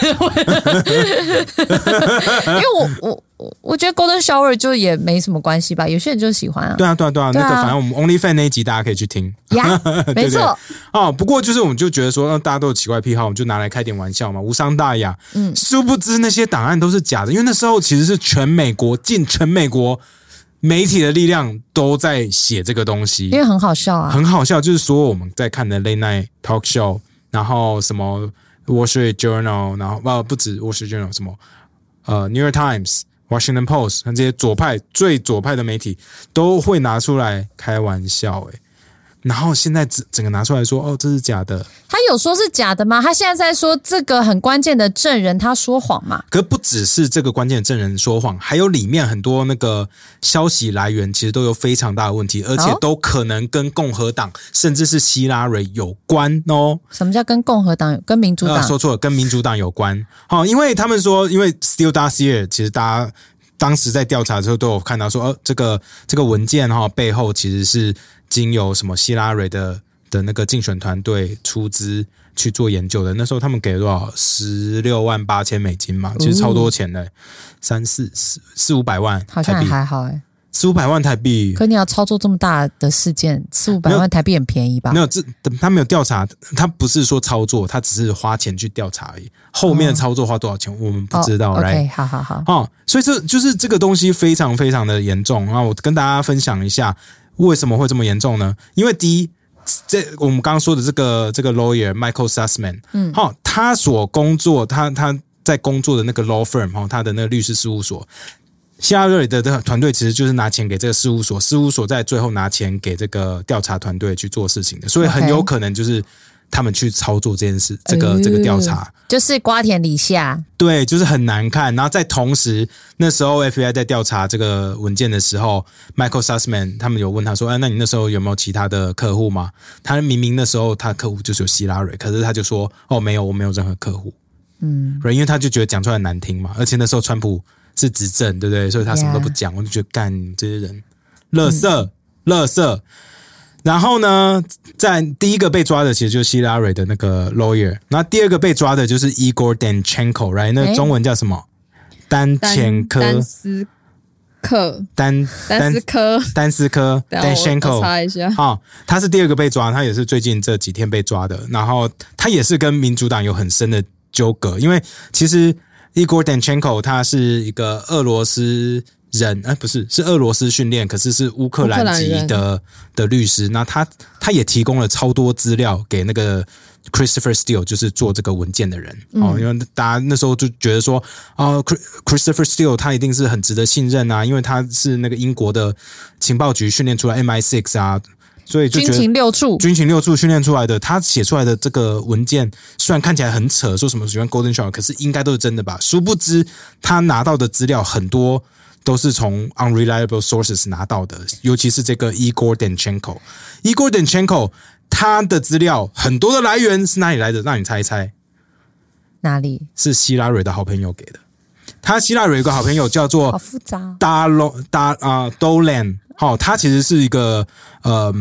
B: 为我我我我觉得 Golden Shower 就也没什么关系吧，有些人就喜欢啊。
A: 对啊，对啊，对啊，对啊那个反正我们 OnlyFans 那一集大家可以去听。
B: 呀、yeah, 没错。
A: 哦，不过就是我们就觉得说，大家都有奇怪癖好，我们就拿来开点玩笑嘛，无伤大雅。嗯，殊不知那些档案都是假的，因为那时候其实是全美国近全美国媒体的力量都在写这个东西，
B: 因为很好笑啊，
A: 很好笑，就是说我们在看的 Late Night Talk Show， 然后什么 Wall Street Journal， 然后呃不止 Wall Street Journal， 什么呃 New York Times、Washington Post， 这些左派最左派的媒体都会拿出来开玩笑、欸，然后现在整个拿出来说，哦，这是假的。
B: 他有说是假的吗？他现在在说这个很关键的证人他说谎嘛？
A: 可不只是这个关键的证人说谎，还有里面很多那个消息来源其实都有非常大的问题，而且都可能跟共和党甚至是希拉蕊有关哦。
B: 什么叫跟共和党有？跟民主党？
A: 呃、说错了，跟民主党有关。好、哦，因为他们说，因为 Steele Dossier 其实大家当时在调查的时候都有看到说，呃，这个这个文件哈、哦、背后其实是经由什么希拉蕊的的那个竞选团队出资去做研究的。那时候他们给了多少？十六万八千美金嘛，其实超多钱的，三四四四五百万，
B: 好像还好哎、欸，
A: 四五百万台币。
B: 可你要操作这么大的事件，四五百万台币很便宜吧？
A: 没有，这他没有调查，他不是说操作，他只是花钱去调查而已。后面的操作花多少钱，我们不知道。
B: 哦、
A: right？
B: OK， 好好好。
A: 哦，所以这就是这个东西非常非常的严重。然后我跟大家分享一下。为什么会这么严重呢？因为第一，这我们刚刚说的这个这个 lawyer Michael Sussman， 嗯，好、哦，他所工作，他他在工作的那个 law firm， 哈、哦，他的那个律师事务所，希拉蕊的这个团队其实就是拿钱给这个事务所，事务所在最后拿钱给这个调查团队去做事情的，所以很有可能就是他们去操作这件事，这个、呃、这个调查。
B: 就是瓜田李下，
A: 对，就是很难看。然后在同时，那时候 F B I 在调查这个文件的时候 ，Michael Sussman 他们有问他说：“哎，那你那时候有没有其他的客户吗？”他明明那时候他的客户就是有希拉蕊，可是他就说：“哦，没有，我没有任何客户。”嗯，因为他就觉得讲出来难听嘛，而且那时候川普是执政，对不对？所以他什么都不讲， yeah. 我就觉得干这些人，垃圾，嗯、垃圾。然后呢，在第一个被抓的其实就是希拉蕊的那个 lawyer， 那第二个被抓的就是 Igor Danchenko，right？ 那中文叫什么？丹前科。
C: 丹斯克。
A: 丹
C: 丹斯科。
A: 丹斯科。Danchenko。
C: 我查一下。
A: 好、哦，他是第二个被抓，他也是最近这几天被抓的。然后他也是跟民主党有很深的纠葛，因为其实 Igor Danchenko 他是一个俄罗斯。人哎，不是，是俄罗斯训练，可是是乌克兰籍的的律师。那他他也提供了超多资料给那个 Christopher Steele， 就是做这个文件的人、嗯、哦。因为大家那时候就觉得说，哦 ，Christopher Steele 他一定是很值得信任啊，因为他是那个英国的情报局训练出来 M I 六 啊，所以就觉得
B: 军情六处，
A: 军情六处训练出来的，他写出来的这个文件虽然看起来很扯，说什么喜欢 Golden Shower， 可是应该都是真的吧？殊不知他拿到的资料很多。都是从 unreliable sources 拿到的，尤其是这个 Igor Danchenko。Igor Danchenko 他的资料很多的来源是哪里来的？让你猜一猜。
B: 哪里？
A: 是希拉蕊的好朋友给的。他希拉蕊有个好朋友叫做
B: 好复杂
A: Dalo Da 啊 Dolan， 好、哦，他其实是一个呃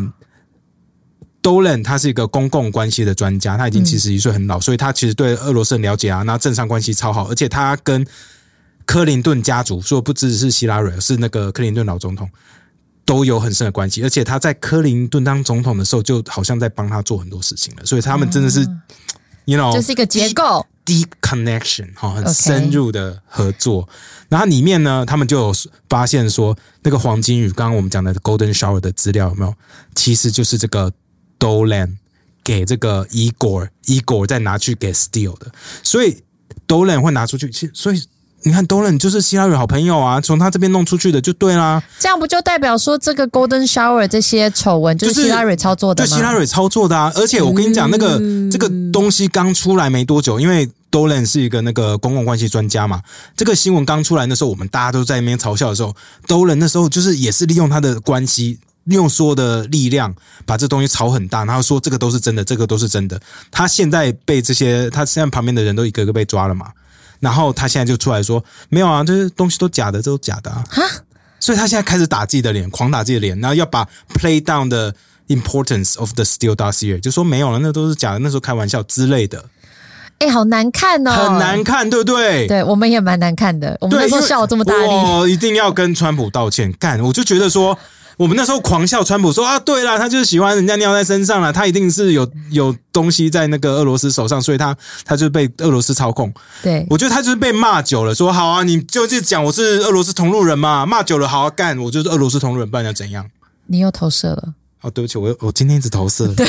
A: Dolan， 他是一个公共关系的专家，他已经七十一岁很老、嗯，所以他其实对俄罗斯很了解啊，那政商关系超好，而且他跟克林顿家族，说不只是希拉蕊，是那个克林顿老总统，都有很深的关系。而且他在克林顿当总统的时候，就好像在帮他做很多事情了。所以他们真的是， ，you know，
B: 就是一个结构
A: deep, deep connection 很深入的合作。Okay. 然后里面呢，他们就有发现说，那个黄金雨，刚刚我们讲的 Golden Shower 的资料有没有？其实就是这个 Dolan 给这个 Igor Igor 再拿去给 Steele 的，所以 Dolan 会拿出去，所以。你看 Dolan 就是希拉蕊好朋友啊，从他这边弄出去的就对啦。
B: 这样不就代表说这个 Golden Shower 这些丑闻就是希拉蕊操作的吗？
A: 就希拉蕊操作的啊！而且我跟你讲，那个、嗯、这个东西刚出来没多久，因为 Dolan 是一个那个公共关系专家嘛，这个新闻刚出来那时候，我们大家都在那边嘲笑的时候 ，Dolan 那时候就是也是利用他的关系。利用所有的力量把这东西炒很大，然后说这个都是真的，这个都是真的。他现在被这些，他现在旁边的人都一个个被抓了嘛。然后他现在就出来说没有啊，这些东西都假的，这都假的啊。所以他现在开始打自己的脸，狂打自己的脸，然后要把 play down the importance of the Steele dossier， 就说没有了，那都是假的，那时候开玩笑之类的。
B: 哎、欸，好难看哦，
A: 很难看，对不对？
B: 对，我们也蛮难看的。我们那时候笑这么大力，
A: 我一定要跟川普道歉。干，我就觉得说。我们那时候狂笑川普说啊，对啦，他就是喜欢人家尿在身上啦，他一定是有有东西在那个俄罗斯手上，所以他他就被俄罗斯操控。
B: 对，
A: 我觉得他就是被骂久了，说好啊，你就是讲我是俄罗斯同路人嘛，骂久了好啊，干，我就是俄罗斯同路人，不然要怎样？
B: 你又投射了。
A: 哦，对不起，我我今天一直投射。
B: 对，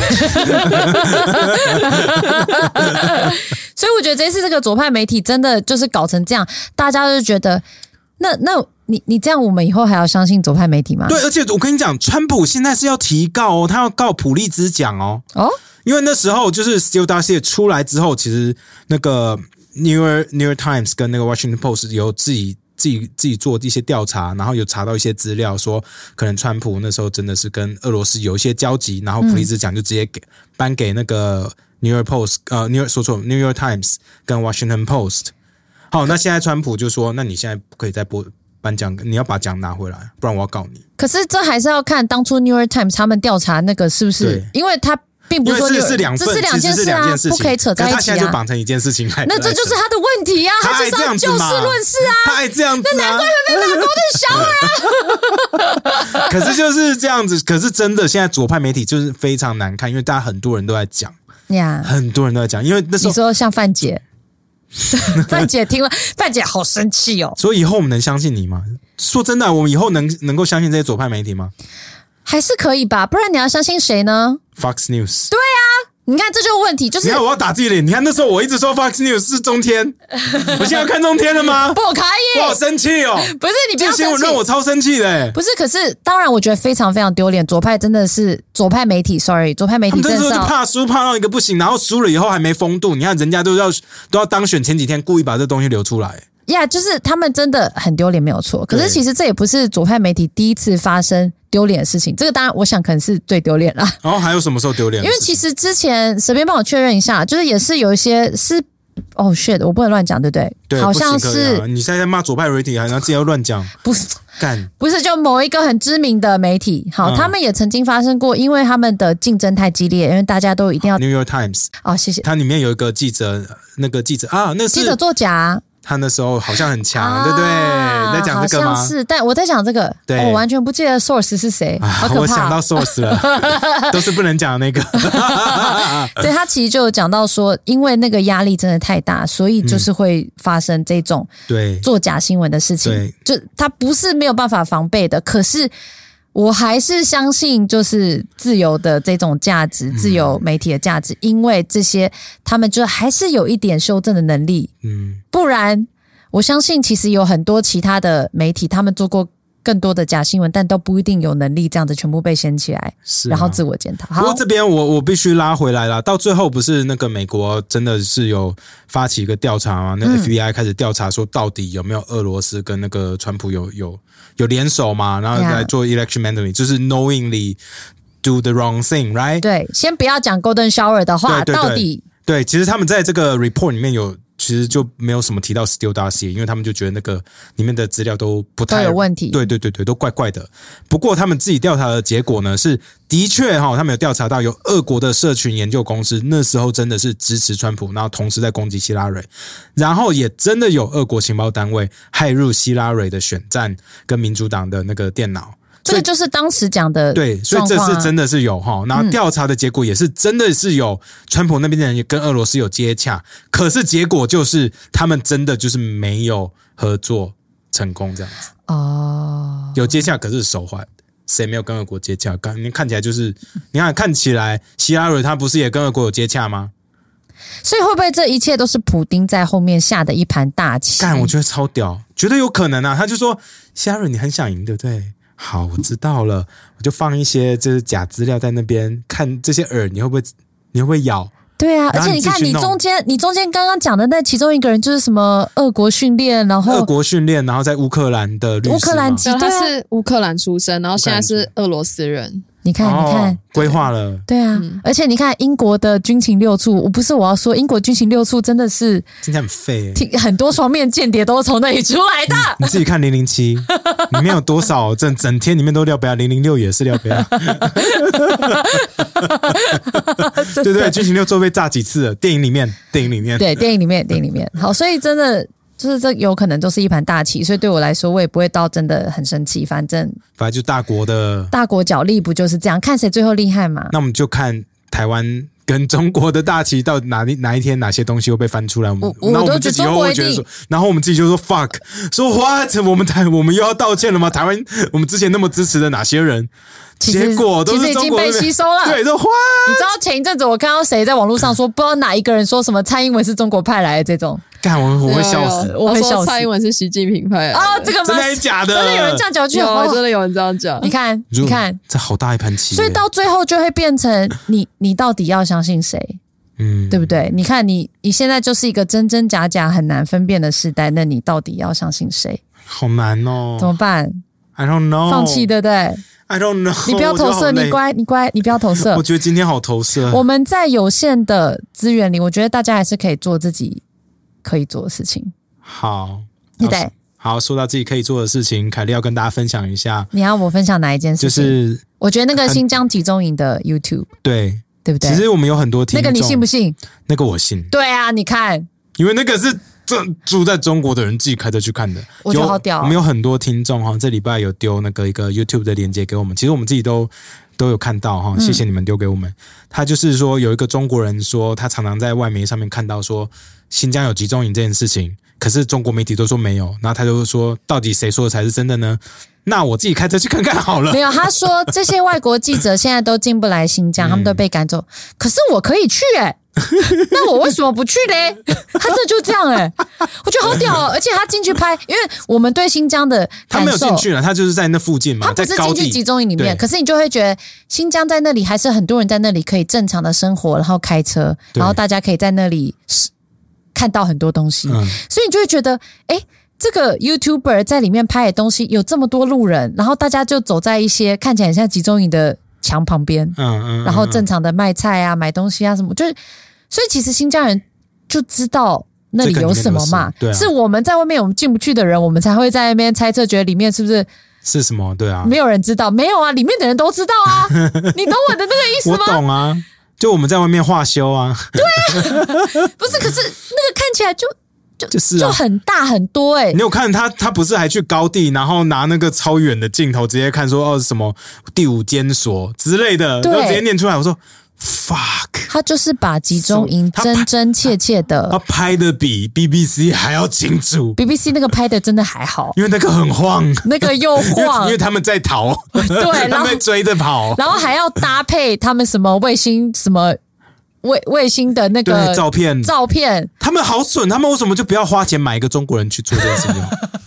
B: 所以我觉得这次这个左派媒体真的就是搞成这样，大家就觉得那那。你你这样，我们以后还要相信左派媒体吗？
A: 对，而且我跟你讲，川普现在是要提告哦，他要告普利兹奖哦。哦，因为那时候就是 Steele dossier 出来之后，其實那個 New York New York Times 跟那個 Washington Post 有自己自己自己做一些调查，然后有查到一些資料，說可能川普那時候真的是跟俄羅斯有一些交集，然後普利茲獎就直接給頒給那個 New York Post 呃 New York 說錯 New York Times 跟 Washington Post。好，那現在川普就說，那你現在不可以再播。颁奖，你要把獎拿回來，不然我要告你。
B: 可是這還是要看當初 New York Times 他們調查那個是不是？因為他並不是說
A: 因為是兩份，
B: 這是兩件事啊，不可以扯在一起啊。
A: 他現在就綁成一件事情來，
B: 那這就是他的問題啊，他就是要就事論事啊，
A: 他愛這樣子啊，
B: 那難怪會被罵Golden Shower啊。
A: 可是就是這樣子，可是真的現在左派媒體就是非常難看，因為大家很多人都在講， yeah, 很多人都在講，因為那時候
B: 你說像范姐。范姐聽了，范姐好生氣哦。
A: 所以以後我們能相信你嗎？說真的，我們以後能能夠相信這些左派媒體嗎？
B: 還是可以吧，不然你要相信誰呢
A: ？Fox News。
B: 對啊，你看這就是問題，就是
A: 你看我要打自己臉。你看那時候我一直說 Fox News 是中天，我現在要看中天了嗎？
B: 不可以，
A: 我好生氣哦。
B: 不是你不要生氣，
A: 這新聞讓我超生氣的。
B: 不是，可是當然我覺得非常非常丟臉。左派真的是左派媒體 ，sorry， 左派媒體真的是
A: 怕輸怕到一個不行，然後輸了以後還沒風度。你看人家都要都要當選前幾天故意把這東西流出來。
B: 呀、yeah, 就是他們真的很丟臉沒有錯，可是其實這也不是左派媒體第一次發生丟臉的事情，這個當然我想可能是最丟臉啦。
A: 然後、哦、還有什麼時候丟臉？
B: 因為其實之前隨便幫我確認一下，就是也是有一些是哦 shit， 我不能亂講，對不對？
A: 對，
B: 好像是、
A: 啊、你現在罵左派媒體，然後自己要亂講，
B: 不是
A: 幹，
B: 不是就某一個很知名的媒體，好、嗯，他們也曾經發生過，因為他們的競爭太激烈，因為大家都一定要
A: New York Times
B: 哦，謝謝，
A: 它裡面有一個記者，那個記者啊，那是
B: 記者作假。
A: 他那時候好像很強、啊、對不對？在講這個嗎？
B: 好像是，但我在講這個，
A: 對，
B: 我完全不記得 source 是誰，好可怕。
A: 我想到 source 了，都是不能講的那個。
B: 對，他其實就有講到說，因為那個壓力真的太大，所以就是會發生這種對作假新聞的事情。對，就他不是沒有辦法防備的，可是我還是相信就是自由的這種價值，自由媒體的價值，因為這些他們就還是有一點修正的能力。嗯，不然我相信其實有很多其他的媒體，他們做過更多的假新聞，但都不一定有能力這樣子全部被掀起來，是、啊、然後自我檢討。
A: 不過這邊我我必須拉回來啦，到最後不是那個美國真的是有發起一個調查嗎？那 F B I 開始調查說到底有沒有俄羅斯跟那個川普有有有聯手嘛，然後來做 election manipulation， 就是 knowingly do the wrong thing， right？
B: 對，先不要講 Golden Shower 的話，
A: 對對對
B: 到底
A: 對，其實他們在這個 report 裡面有。其實就沒有什麼提到 Steele dossier， 因為他們就覺得那個裡面的資料都不太
B: 都有問題，
A: 對對對對，都怪怪的。不過他們自己調查的結果呢，是的確哈，他們有調查到有俄國的社群研究公司，那時候真的是支持川普，然後同時在攻擊希拉蕊，然後也真的有俄國情報單位駭入希拉蕊的選戰跟民主黨的那個電腦。
B: 这个就是当时讲的、啊、
A: 对，所以这是真的是有哈。然后调查的结果也是真的是有，川普那边的人也跟俄罗斯有接洽，可是结果就是他们真的就是没有合作成功这样子。哦，有接洽，可是手环。谁没有跟俄国接洽？刚你看起来就是，你看看起来，希拉蕊他不是也跟俄国有接洽吗？
B: 所以会不会这一切都是普丁在后面下的一盘大棋？
A: 干，我觉得超屌，绝对有可能啊！他就说，希拉蕊你很想赢，对不对？好，我知道了，我就放一些就是假资料在那边，看这些饵你会不会，你会不会咬？
B: 对啊，而且你看，你中间，你中间刚刚讲的那其中一个人就是什么俄国训练，然后
A: 俄国训练，然后在乌克兰的律师，
B: 乌克兰籍，
C: 他是乌克兰出生，然后现在是俄罗斯人。
B: 你看，你看，
A: 规划了，
B: 对啊、嗯，而且你看英国的军情六处，我不是我要说，英国军情六处真的是
A: 听起来很废、
B: 欸，很多双面间谍都是从那里出来的。
A: 你, 你自己看零零七里面有多少整整天里面都廖北亚，零零六也是廖北亚，对对，军情六处被炸几次了？电影里面，电影里面，
B: 对，电影里面，电影里面，好，所以真的。就是这有可能都是一盘大棋，所以对我来说，我也不会到真的很生气。反正，
A: 反正就大国的
B: 大国角力不就是这样？看谁最后厉害嘛？
A: 那我们就看台湾跟中国的大棋到哪里哪一天哪些东西会被翻出来。我们，
B: 我
A: 然后我们自己又会觉得说，然后我们自己就说 fuck， 说 what？ 我们台我们又要道歉了吗？台湾我们之前那么支持的哪些人？结果都是中国
B: 其实已经被吸收了。
A: 对，说 what？
B: 你知道前一阵子我看到谁在网络上说，不知道哪一个人说什么蔡英文是中国派来的这种。
A: 干我我会笑死，
B: 我会笑死。
C: 蔡英文是习近平派的
B: 啊、哦，这个吗？
A: 真的还是假的？
B: 真的有人这样讲句，
C: 有真的有人这样讲。
B: 你看，你看，
A: 这好大一盘棋。
B: 所以到最后就会变成你，你到底要相信谁？嗯，对不对？你看你，你现在就是一个真真假假很难分辨的时代，那你到底要相信谁？
A: 好难哦，
B: 怎么办
A: ？I don't know，
B: 放弃，对不对
A: ？I don't know，
B: 你不要投射，你乖，你乖，你不要投射。
A: 我觉得今天好投射。
B: 我们在有限的资源里，我觉得大家还是可以做自己可以做的事情。
A: 好，
B: 对，
A: 好，说到自己可以做的事情，凯莉要跟大家分享一下。
B: 你要我分享哪一件事情？就是我觉得那个新疆集中营的 YouTube，
A: 对
B: 对不对？
A: 其实我们有很多听众，
B: 那个你信不信？
A: 那个我信。
B: 对啊，你看，
A: 因为那个是住在中国的人自己开车去看的，
B: 我觉得好屌、哦。
A: 我们有很多听众哈，这礼拜有丢那个一个 YouTube 的链接给我们，其实我们自己都都有看到哈，谢谢你们丢给我们。嗯、他就是说有一个中国人说，他常常在外媒上面看到说新疆有集中营这件事情，可是中国媒体都说没有，然后他就说到底谁说的才是真的呢？那我自己开车去看看好了。
B: 没有，他说这些外国记者现在都进不来新疆，嗯、他们都被赶走，可是我可以去哎、欸。那我为什么不去嘞？他这就这样哎、欸，我觉得好屌哦！而且他进去拍，因为我们对新疆的感受，
A: 他没有进去了，他就是在那附近嘛，
B: 他不是进去集中营里面，可是你就会觉得新疆在那里还是很多人在那里可以正常的生活，然后开车，然后大家可以在那里看到很多东西，嗯、所以你就会觉得，哎，这个 YouTuber 在里面拍的东西有这么多路人，然后大家就走在一些看起来很像集中营的墙旁边，嗯嗯，然后正常的卖菜啊、买东西啊什么，就是，所以其实新疆人就知道那里有什么嘛，
A: 对啊、
B: 是我们在外面我们进不去的人，我们才会在那边猜测，觉得里面是不是
A: 是什么？对啊，
B: 没有人知道，没有啊，里面的人都知道啊，你懂我的那个意思吗？
A: 我懂啊，就我们在外面化修啊，
B: 对啊，不是，可是那个看起来就。就,
A: 就是、啊、
B: 就很大很多哎、欸！
A: 你有看他？他不是还去高地，然后拿那个超远的镜头直接看说哦什么第五监所之类的，就直接念出来。我说 fuck，
B: 他就是把集中营真真切切的，
A: 他拍的比 B B C 还要清楚。
B: B B C 那个拍的真的还好，
A: 因为那个很晃，
B: 那个又晃，
A: 因为他们在逃，
B: 对，
A: 他们追着跑，
B: 然后还要搭配他们什么卫星什么。卫卫星的那个
A: 照片，
B: 照片，
A: 他们好蠢，他们为什么就不要花钱买一个中国人去做这件事情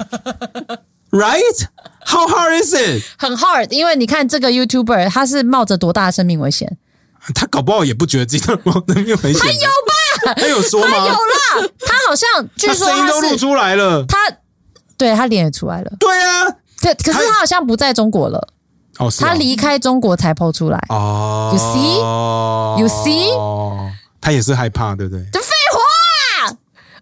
A: ？Right? How hard is it?
B: 很 hard， 因为你看这个 YouTuber， 他是冒着多大的生命危险？
A: 他搞不好也不觉得自己在冒生命危险。
B: 他有吧？
A: 他有说吗？
B: 他有啦，他好像据说
A: 他声音都录出来了，
B: 他对他脸也出来了。
A: 对啊，
B: 可可是他好像不在中国了。
A: 哦，
B: 他离开中国才 po 出来哦 ，You see, you see，
A: 他也是害怕，对不对？
B: 这废话，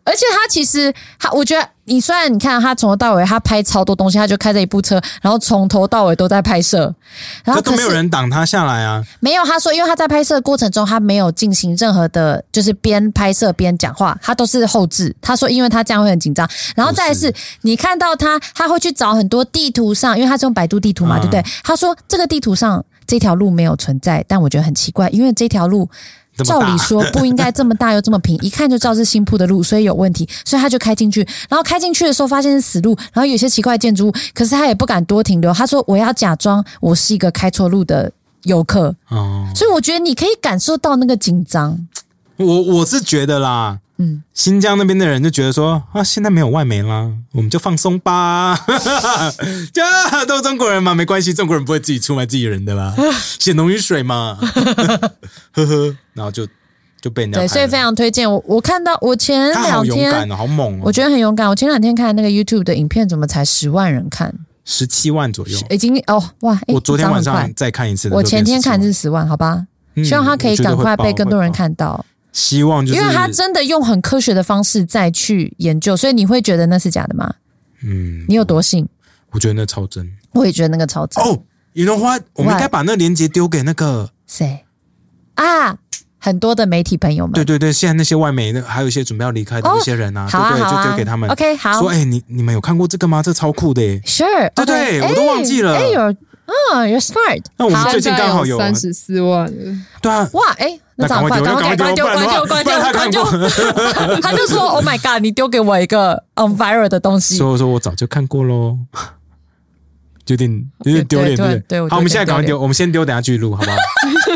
B: 而且他其实他，我觉得你虽然你看他从头到尾他拍超多东西，他就开着一部车，然后从头到尾都在拍摄，然后
A: 可都没有人挡他下来啊。
B: 没有，他说因为他在拍摄的过程中他没有进行任何的，就是边拍摄边讲话，他都是后置。他说因为他这样会很紧张，然后再来是你看到他他会去找很多地图上，因为他是用百度地图嘛，嗯、对不对？他说这个地图上这条路没有存在，但我觉得很奇怪，因为这条路。照理说不应该这么大又这么平，一看就知道是新铺的路，所以有问题，所以他就开进去。然后开进去的时候发现是死路，然后有些奇怪的建筑物，可是他也不敢多停留。他说我要假装我是一个开错路的游客，哦，所以我觉得你可以感受到那个紧张。
A: 我我是觉得啦，嗯，新疆那边的人就觉得说啊，现在没有外媒啦，我们就放松吧，就都是中国人嘛，没关系，中国人不会自己出卖自己人的啦，血浓于水嘛，呵呵，然后就就被人家
B: 对，所以非常推荐我。我看到我前两天，他好勇
A: 敢哦，好猛哦，
B: 我觉得很勇敢。我前两天看那个 YouTube 的影片，怎么才十万人看？
A: 十七万左右，
B: 已经哦哇！
A: 我昨天晚上再看一次，
B: 我前天看是十万，好吧？嗯、希望他可以赶快被更多人看到。
A: 希望就是，
B: 因为他真的用很科学的方式再去研究，所以你会觉得那是假的吗？嗯，你有多信？
A: 我觉得那超真，
B: 我也觉得那个超真。
A: 哦，you know what？我们应该把那个链接丢给那个
B: 谁啊？很多的媒体朋友们，
A: 对对对，现在那些外媒，还有一些准备要离开的那些人啊，
B: 哦、对
A: 对对，
B: 啊
A: 就丢给他们。
B: OK， 好，
A: 说哎、欸，你你们有看过这个吗？这超酷的耶
B: ，Sure，
A: 对对，
B: okay,
A: 我都忘记了。
B: 哎、欸，有哦 ，You're smart。
A: 那我们最近刚好有
C: 三十四万了。
A: 对啊，
B: 哇，哎、欸，那赶快赶快关丢关丢关丢关丢！他就说 ：“Oh my god， 你丢给我一个 on viral 的东西。”
A: 所以我说我早就看过喽，有点有点丢脸，对对对。好，我们现在赶快丢，我们先丢，等下继续录，好不好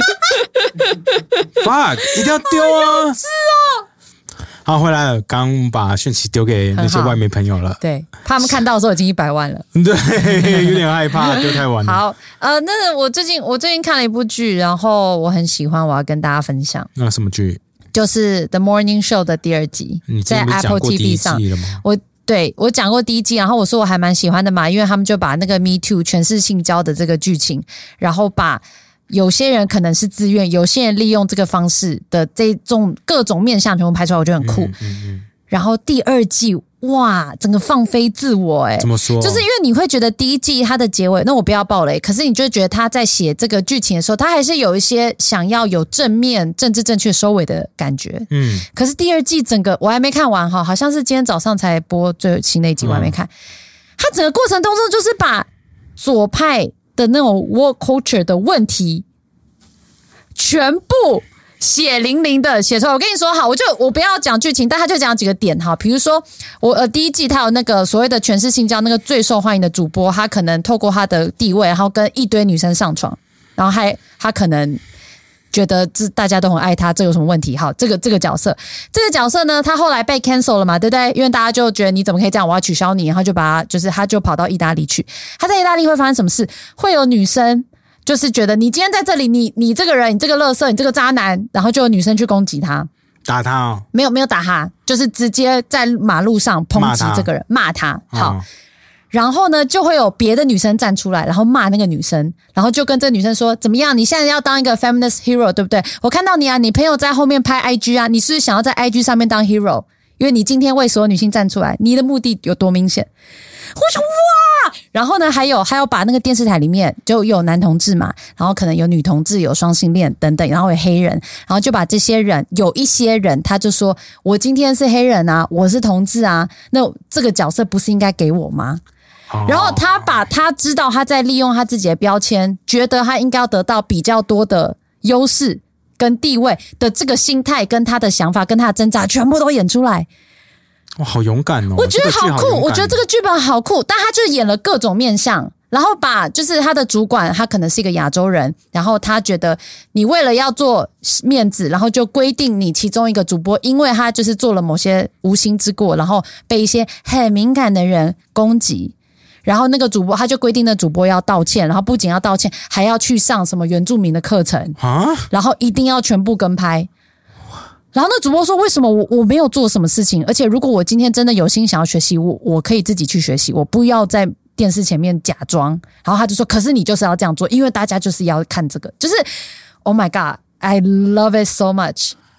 A: ？Fuck， 一定要丢啊！
B: 是哦。
A: 好，回来了，刚把讯息丢给那些外媒朋友了。
B: 对，怕他们看到的时候已经一百万了。
A: 对，有点害怕，丢太晚了。
B: 好，呃，那我最近我最近看了一部剧，然后我很喜欢，我要跟大家分享。
A: 那什么剧？
B: 就是《The Morning Show》的第二集，在 Apple T V 上。我对我讲过第一季，然后我说我还蛮喜欢的嘛，因为他们就把那个 Me Too 全是性交的这个剧情，然后把。有些人可能是自愿，有些人利用这个方式的这种各种面向全部拍出来，我觉得很酷。嗯嗯嗯、然后第二季哇，整个放飞自我哎、欸，
A: 怎么说？
B: 就是因为你会觉得第一季它的结尾，那我不要爆雷，可是你就觉得他在写这个剧情的时候，他还是有一些想要有正面、政治正确收尾的感觉。嗯，可是第二季整个我还没看完哈，好像是今天早上才播最新的一集，我还没看。他、嗯、整个过程当中就是把左派的那种 work culture 的问题全部血淋淋的写出来。我跟你说好，我就我不要讲剧情，但他就讲几个点哈。比如说我呃第一季他有那个所谓的全是性交，那个最受欢迎的主播，他可能透过他的地位，然后跟一堆女生上床，然后还他可能觉得这大家都很爱他，这有什么问题？好，这个这个角色，这个角色呢，他后来被 cancel 了嘛，对不对？因为大家就觉得你怎么可以这样，我要取消你，然后就把他就是他就跑到意大利去。他在意大利会发生什么事？会有女生就是觉得你今天在这里，你你这个人，你这个垃圾，你这个渣男，然后就有女生去攻击他，
A: 打他哦？
B: 没有没有打他，就是直接在马路上抨击这个人，骂他。骂他好。哦，然后呢，就会有别的女生站出来，然后骂那个女生，然后就跟这个女生说：“怎么样？你现在要当一个 feminist hero， 对不对？我看到你啊，你朋友在后面拍 I G 啊，你是不是想要在 I G 上面当 hero？ 因为你今天为所有女性站出来，你的目的有多明显？”我说哇！然后呢，还有还有把那个电视台里面就有男同志嘛，然后可能有女同志，有双性恋等等，然后有黑人，然后就把这些人，有一些人他就说：“我今天是黑人啊，我是同志啊，那这个角色不是应该给我吗？”然后他把他知道他在利用他自己的标签，觉得他应该要得到比较多的优势跟地位的这个心态，跟他的想法，跟他的挣扎，全部都演出来。
A: 哇，好勇敢哦！
B: 我觉得好酷，
A: 这个、
B: 我觉得这个剧本好酷，但他就演了各种面向，然后把就是他的主管，他可能是一个亚洲人，然后他觉得你为了要做面子，然后就规定你其中一个主播，因为他就是做了某些无心之过，然后被一些很敏感的人攻击。然后那个主播他就规定那主播要道歉，然后不仅要道歉，还要去上什么原住民的课程啊，然后一定要全部跟拍。然后那主播说：“为什么我我没有做什么事情？而且如果我今天真的有心想要学习，我我可以自己去学习，我不要在电视前面假装。”然后他就说：“可是你就是要这样做，因为大家就是要看这个，就是 Oh my God, I love it so much。”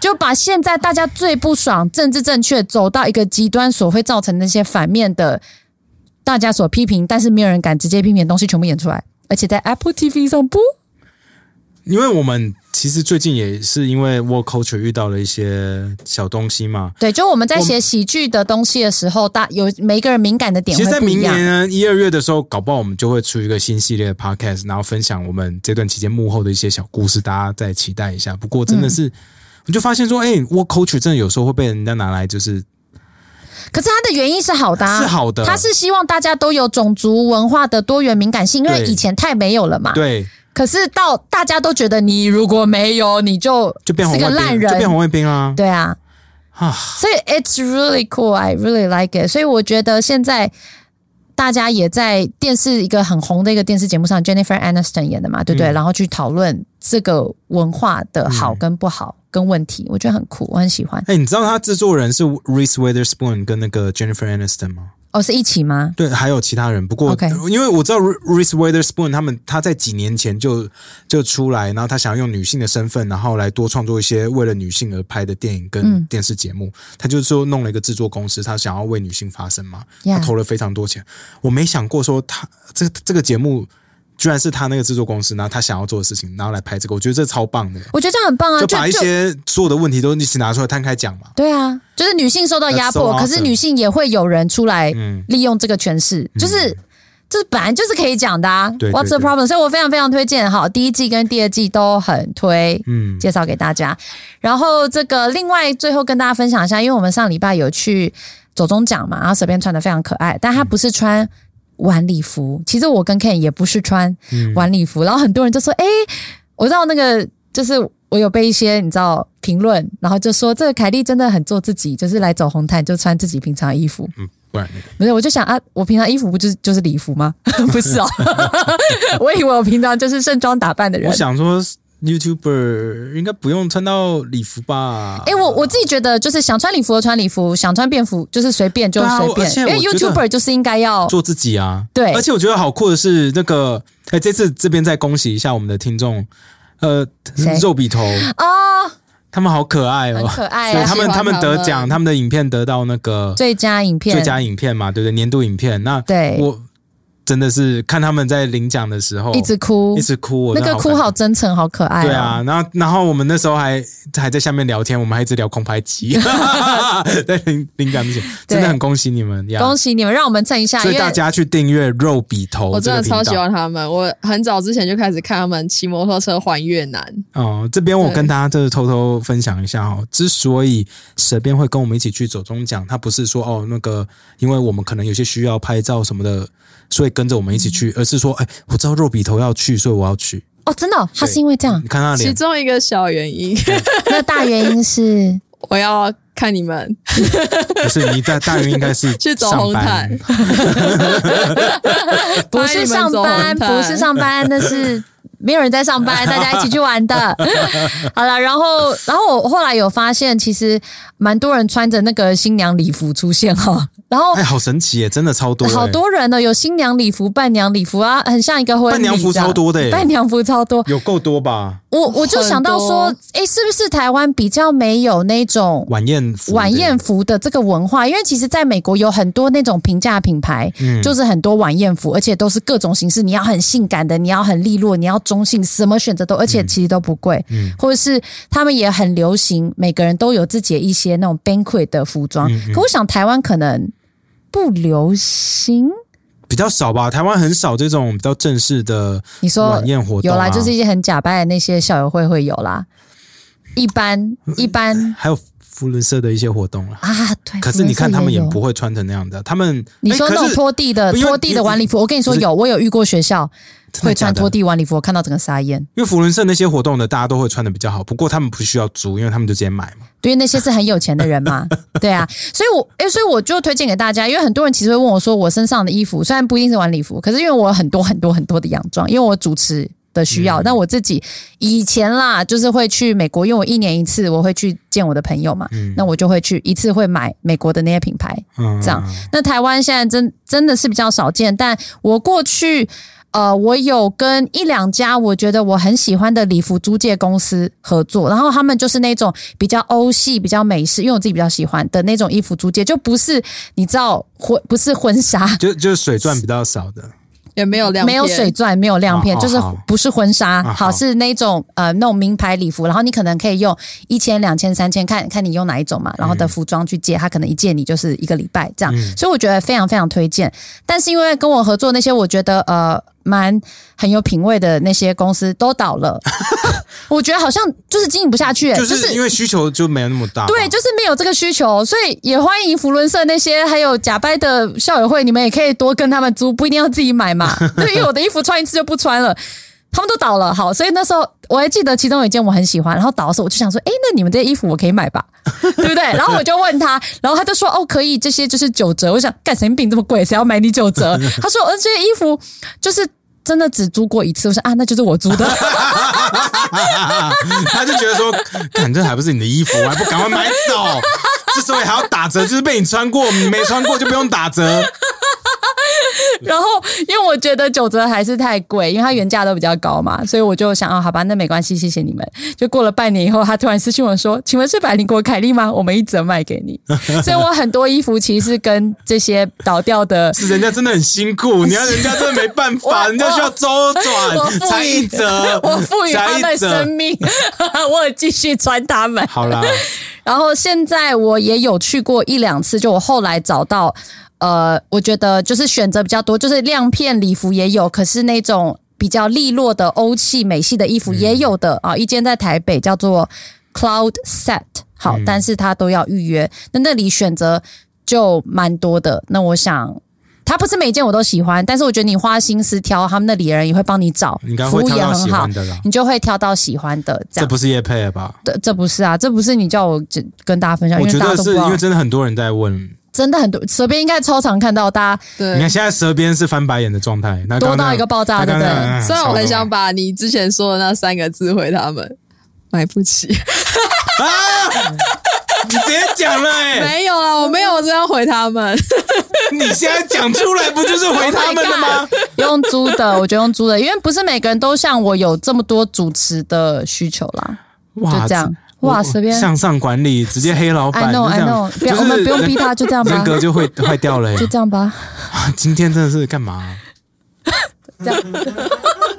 B: 就把现在大家最不爽政治正确走到一个极端所会造成那些反面的大家所批评但是没有人敢直接批评的东西全部演出来，而且在 Apple T V 上播。
A: 因为我们其实最近也是因为 Work Culture 遇到了一些小东西嘛。
B: 对，就我们在写喜剧的东西的时候，大有每一个人敏感的点会不一样。
A: 其实在明年呢一二月的时候，搞不好我们就会出一个新系列的 podcast， 然后分享我们这段期间幕后的一些小故事，大家再期待一下。不过真的是，嗯、我就发现说，哎、欸、，Work Culture 真的有时候会被人家拿来就是。
B: 可是他的原因是好的、啊，
A: 是好的，
B: 他是希望大家都有种族文化的多元敏感性，因为以前太没有了嘛。
A: 对。
B: 可是到大家都觉得你如果没有，你就就变红卫兵，
A: 就变红卫兵啊！
B: 对啊，所以 it's really cool, I really like it。所以我觉得现在大家也在电视一个很红的一个电视节目上 ，Jennifer Aniston 演的嘛，对不对？嗯、然后去讨论这个文化的好跟不好、嗯、跟问题，我觉得很酷，我很喜欢。
A: 哎、欸，你知道他制作人是 Reese Witherspoon 跟那个 Jennifer Aniston 吗？
B: 哦，是一起吗？
A: 对，还有其他人。不过， okay. 因为我知道 Reese Witherspoon 他们，他在几年前就就出来，然后他想要用女性的身份，然后来多创作一些为了女性而拍的电影跟电视节目。嗯、他就是说弄了一个制作公司，他想要为女性发声嘛， yeah. 他投了非常多钱。我没想过说他这这个节目。居然是他那个制作公司，然后他想要做的事情，然后来拍这个，我觉得这超棒的。
B: 我觉得这样很棒啊，
A: 就把一些所有的问题都一起拿出来摊开讲嘛。
B: 对啊，就是女性受到压迫， so awesome. 可是女性也会有人出来利用这个权势，嗯、就是这本来就是可以讲的啊。
A: 对对对
B: What's the problem？ 所以我非常非常推荐，好，第一季跟第二季都很推，嗯，介绍给大家。然后这个另外最后跟大家分享一下，因为我们上礼拜有去走中奖嘛，然后随便穿的非常可爱，但他不是穿。晚礼服，其实我跟 Ken 也不是穿晚礼服、嗯、然后很多人就说哎、欸，我知道那个就是我有被一些你知道评论，然后就说这个凯莉真的很做自己，就是来走红毯就穿自己平常衣服。
A: 嗯，不然
B: 不是，我就想啊，我平常衣服不就是就是礼服吗？不是哦，我以为我平常就是盛装打扮的人。
A: 我想说YouTuber 应该不用穿到礼服吧？
B: 哎、欸，我我自己觉得就是想穿礼服就穿礼服，想穿便服就是随便就随便，因为 YouTuber 就是应该要
A: 做自己啊。
B: 对，
A: 而且我觉得好酷的是那个，哎、欸，这次这边再恭喜一下我们的听众，呃，肉笔头哦，他们好可爱哦，
B: 很可爱、啊，
A: 所以他们他们得奖，他们的影片得到那个
B: 最佳影片，
A: 最佳影片嘛，对不对？年度影片，那
B: 对
A: 我。真的是看他们在领奖的时候
B: 一直哭，
A: 一直哭，
B: 那个哭好真诚，好可爱、哦。
A: 对啊，然后然后我们那时候还还在下面聊天，我们还一直聊空拍机，在领领奖之前，真的很恭喜你们，
B: 恭喜你们，让我们蹭一下。
A: 所以大家去订阅肉笔头，
C: 我真的超喜欢他们，我很早之前就开始看他们骑摩托车环越南。
A: 哦，这边我跟大家就是偷偷分享一下哦，之所以蛇边会跟我们一起去走中奖，他不是说哦那个，因为我们可能有些需要拍照什么的。所以跟着我们一起去，而是说，哎，我知道肉笔头要去，所以我要去。
B: 哦，真的、哦，他是因为这样？
A: 你看他脸，
C: 其中一个小原因，
B: 那大原因是
C: 我要看你们。
A: 不是你大大原因应该是
C: 去走红毯，
B: 不是上班，不是上班，那是。没有人在上班，大家一起去玩的。好了，然后，然后我后来有发现，其实蛮多人穿着那个新娘礼服出现哈。然后，
A: 哎，好神奇耶，真的超多，
B: 好多人呢，有新娘礼服、伴娘礼服啊，很像一个婚礼。
A: 伴娘服超多的耶，
B: 伴娘服超多，
A: 有够多吧？
B: 我我就想到说，哎，是不是台湾比较没有那种
A: 晚宴服、
B: 晚宴服的这个文化？因为其实在美国有很多那种平价品牌，嗯、就是很多晚宴服，而且都是各种形式，你要很性感的，你要很利落，你要中性，什么选择都，而且其实都不贵。嗯，或者是他们也很流行，每个人都有自己的一些那种 banquet 的服装。嗯嗯可我想台湾可能不流行。
A: 比较少吧，台湾很少这种比较正式的晚宴活动、啊、
B: 有啦，就是一些很假掰的那些校友会会有啦，一般一般
A: 还有福伦社的一些活动啦
B: 啊，对。
A: 可是你看他们也不会穿成那样的，他们
B: 你说那种拖地的拖地的晚礼服，我跟你说有，我有遇过学校会穿拖地晚礼服，我看到整个傻眼。
A: 因为福伦社那些活动的大家都会穿的比较好，不过他们不需要租，因为他们就直接买嘛。
B: 因为那些是很有钱的人嘛，对啊，所以我诶，所以我就推荐给大家，因为很多人其实会问我说，我身上的衣服虽然不一定是晚礼服，可是因为我有很多很多很多的洋装，因为我主持的需要，但、嗯、我自己以前啦，就是会去美国，因为我一年一次我会去见我的朋友嘛，嗯、那我就会去一次会买美国的那些品牌，嗯、这样。那台湾现在真真的是比较少见，但我过去。 呃，我有跟一两家我觉得我很喜欢的礼服租借公司合作，然后他们就是那种比较欧系、比较美式，因为我自己比较喜欢的那种衣服租借，就不是你知道婚不是婚纱，
A: 就就是水钻比较少的。
C: 也没有亮片，
B: 没有水钻，没有亮片，
A: 好
B: 就是不是婚纱，
A: 好
B: 好是那种呃那种名牌礼服，然后你可能可以用一千、两千、三千，看看你用哪一种嘛，然后的服装去借，他可能一借你就是一个礼拜这样，
A: 嗯、
B: 所以我觉得非常非常推荐。但是因为跟我合作那些，我觉得呃蛮很有品味的那些公司都倒了，我觉得好像就是经营不下去、欸，
A: 就是因为需求就没有那么大，
B: 对，就是没有这个需求，所以也欢迎福伦社那些还有假掰的校友会，你们也可以多跟他们租，不一定要自己买嘛。对，因为我的衣服穿一次就不穿了，他们都倒了。好，所以那时候我还记得其中有一件我很喜欢，然后倒的时候我就想说，哎，那你们这些衣服我可以买吧，对不对？然后我就问他，然后他就说，哦，可以，这些就是九折。我想，干神经病这么贵，谁要买你九折？他说，呃，这些衣服就是真的只租过一次。我说啊，那就是我租的。
A: 他就觉得说，干这还不是你的衣服，我还不赶快买走？之所以还要打折，就是被你穿过，你没穿过就不用打折。
B: 然后，因为我觉得九折还是太贵，因为它原价都比较高嘛，所以我就想啊，好吧，那没关系，谢谢你们。就过了半年以后，他突然私讯我说：“请问是百灵果凯莉吗？我们一折卖给你。”所以我很多衣服其实是跟这些倒掉的，
A: 是人家真的很辛苦，你要人家真的没办法，人家需要周转才一折，
B: 我赋予他们生命，我有继续穿他们。
A: 好啦，
B: 然后现在我也有去过一两次，就我后来找到。呃，我觉得就是选择比较多，就是亮片礼服也有，可是那种比较利落的欧系美系的衣服也有的、嗯、啊。一间在台北叫做 Cloud Set， 好、嗯，但是它都要预约。那那里选择就蛮多的。那我想，它不是每一件我都喜欢，但是我觉得你花心思挑，他们那里的人也会帮你找，服务也很好，你就会挑到喜欢的。这样，
A: 这不是业配了吧？
B: 这这不是啊，这不是你叫我跟大家分享，
A: 我觉得是因为真的很多人在问。
B: 真的很多，舌边应该超常看到大家。
C: 对，
A: 你看现在舌边是翻白眼的状态，那
B: 多到一个爆炸，对不对？
C: 虽然我很想把你之前说的那三个字回他们，买不起。
A: 啊！你直接讲了哎、欸，
C: 没有啦，我没有这样回他们。
A: 你现在讲出来不就是回他们的吗？
B: Oh、用租的，我觉得用租的，因为不是每个人都像我有这么多主持的需求啦。哇，就这样。哇，随便
A: 向上管理，直接黑老板。
B: I know, I know， 不要，我们不用逼他，就这样吧。
A: 人格就会坏掉了、欸，
B: 就这样吧。
A: 今天真的是干嘛、啊？
B: 这样。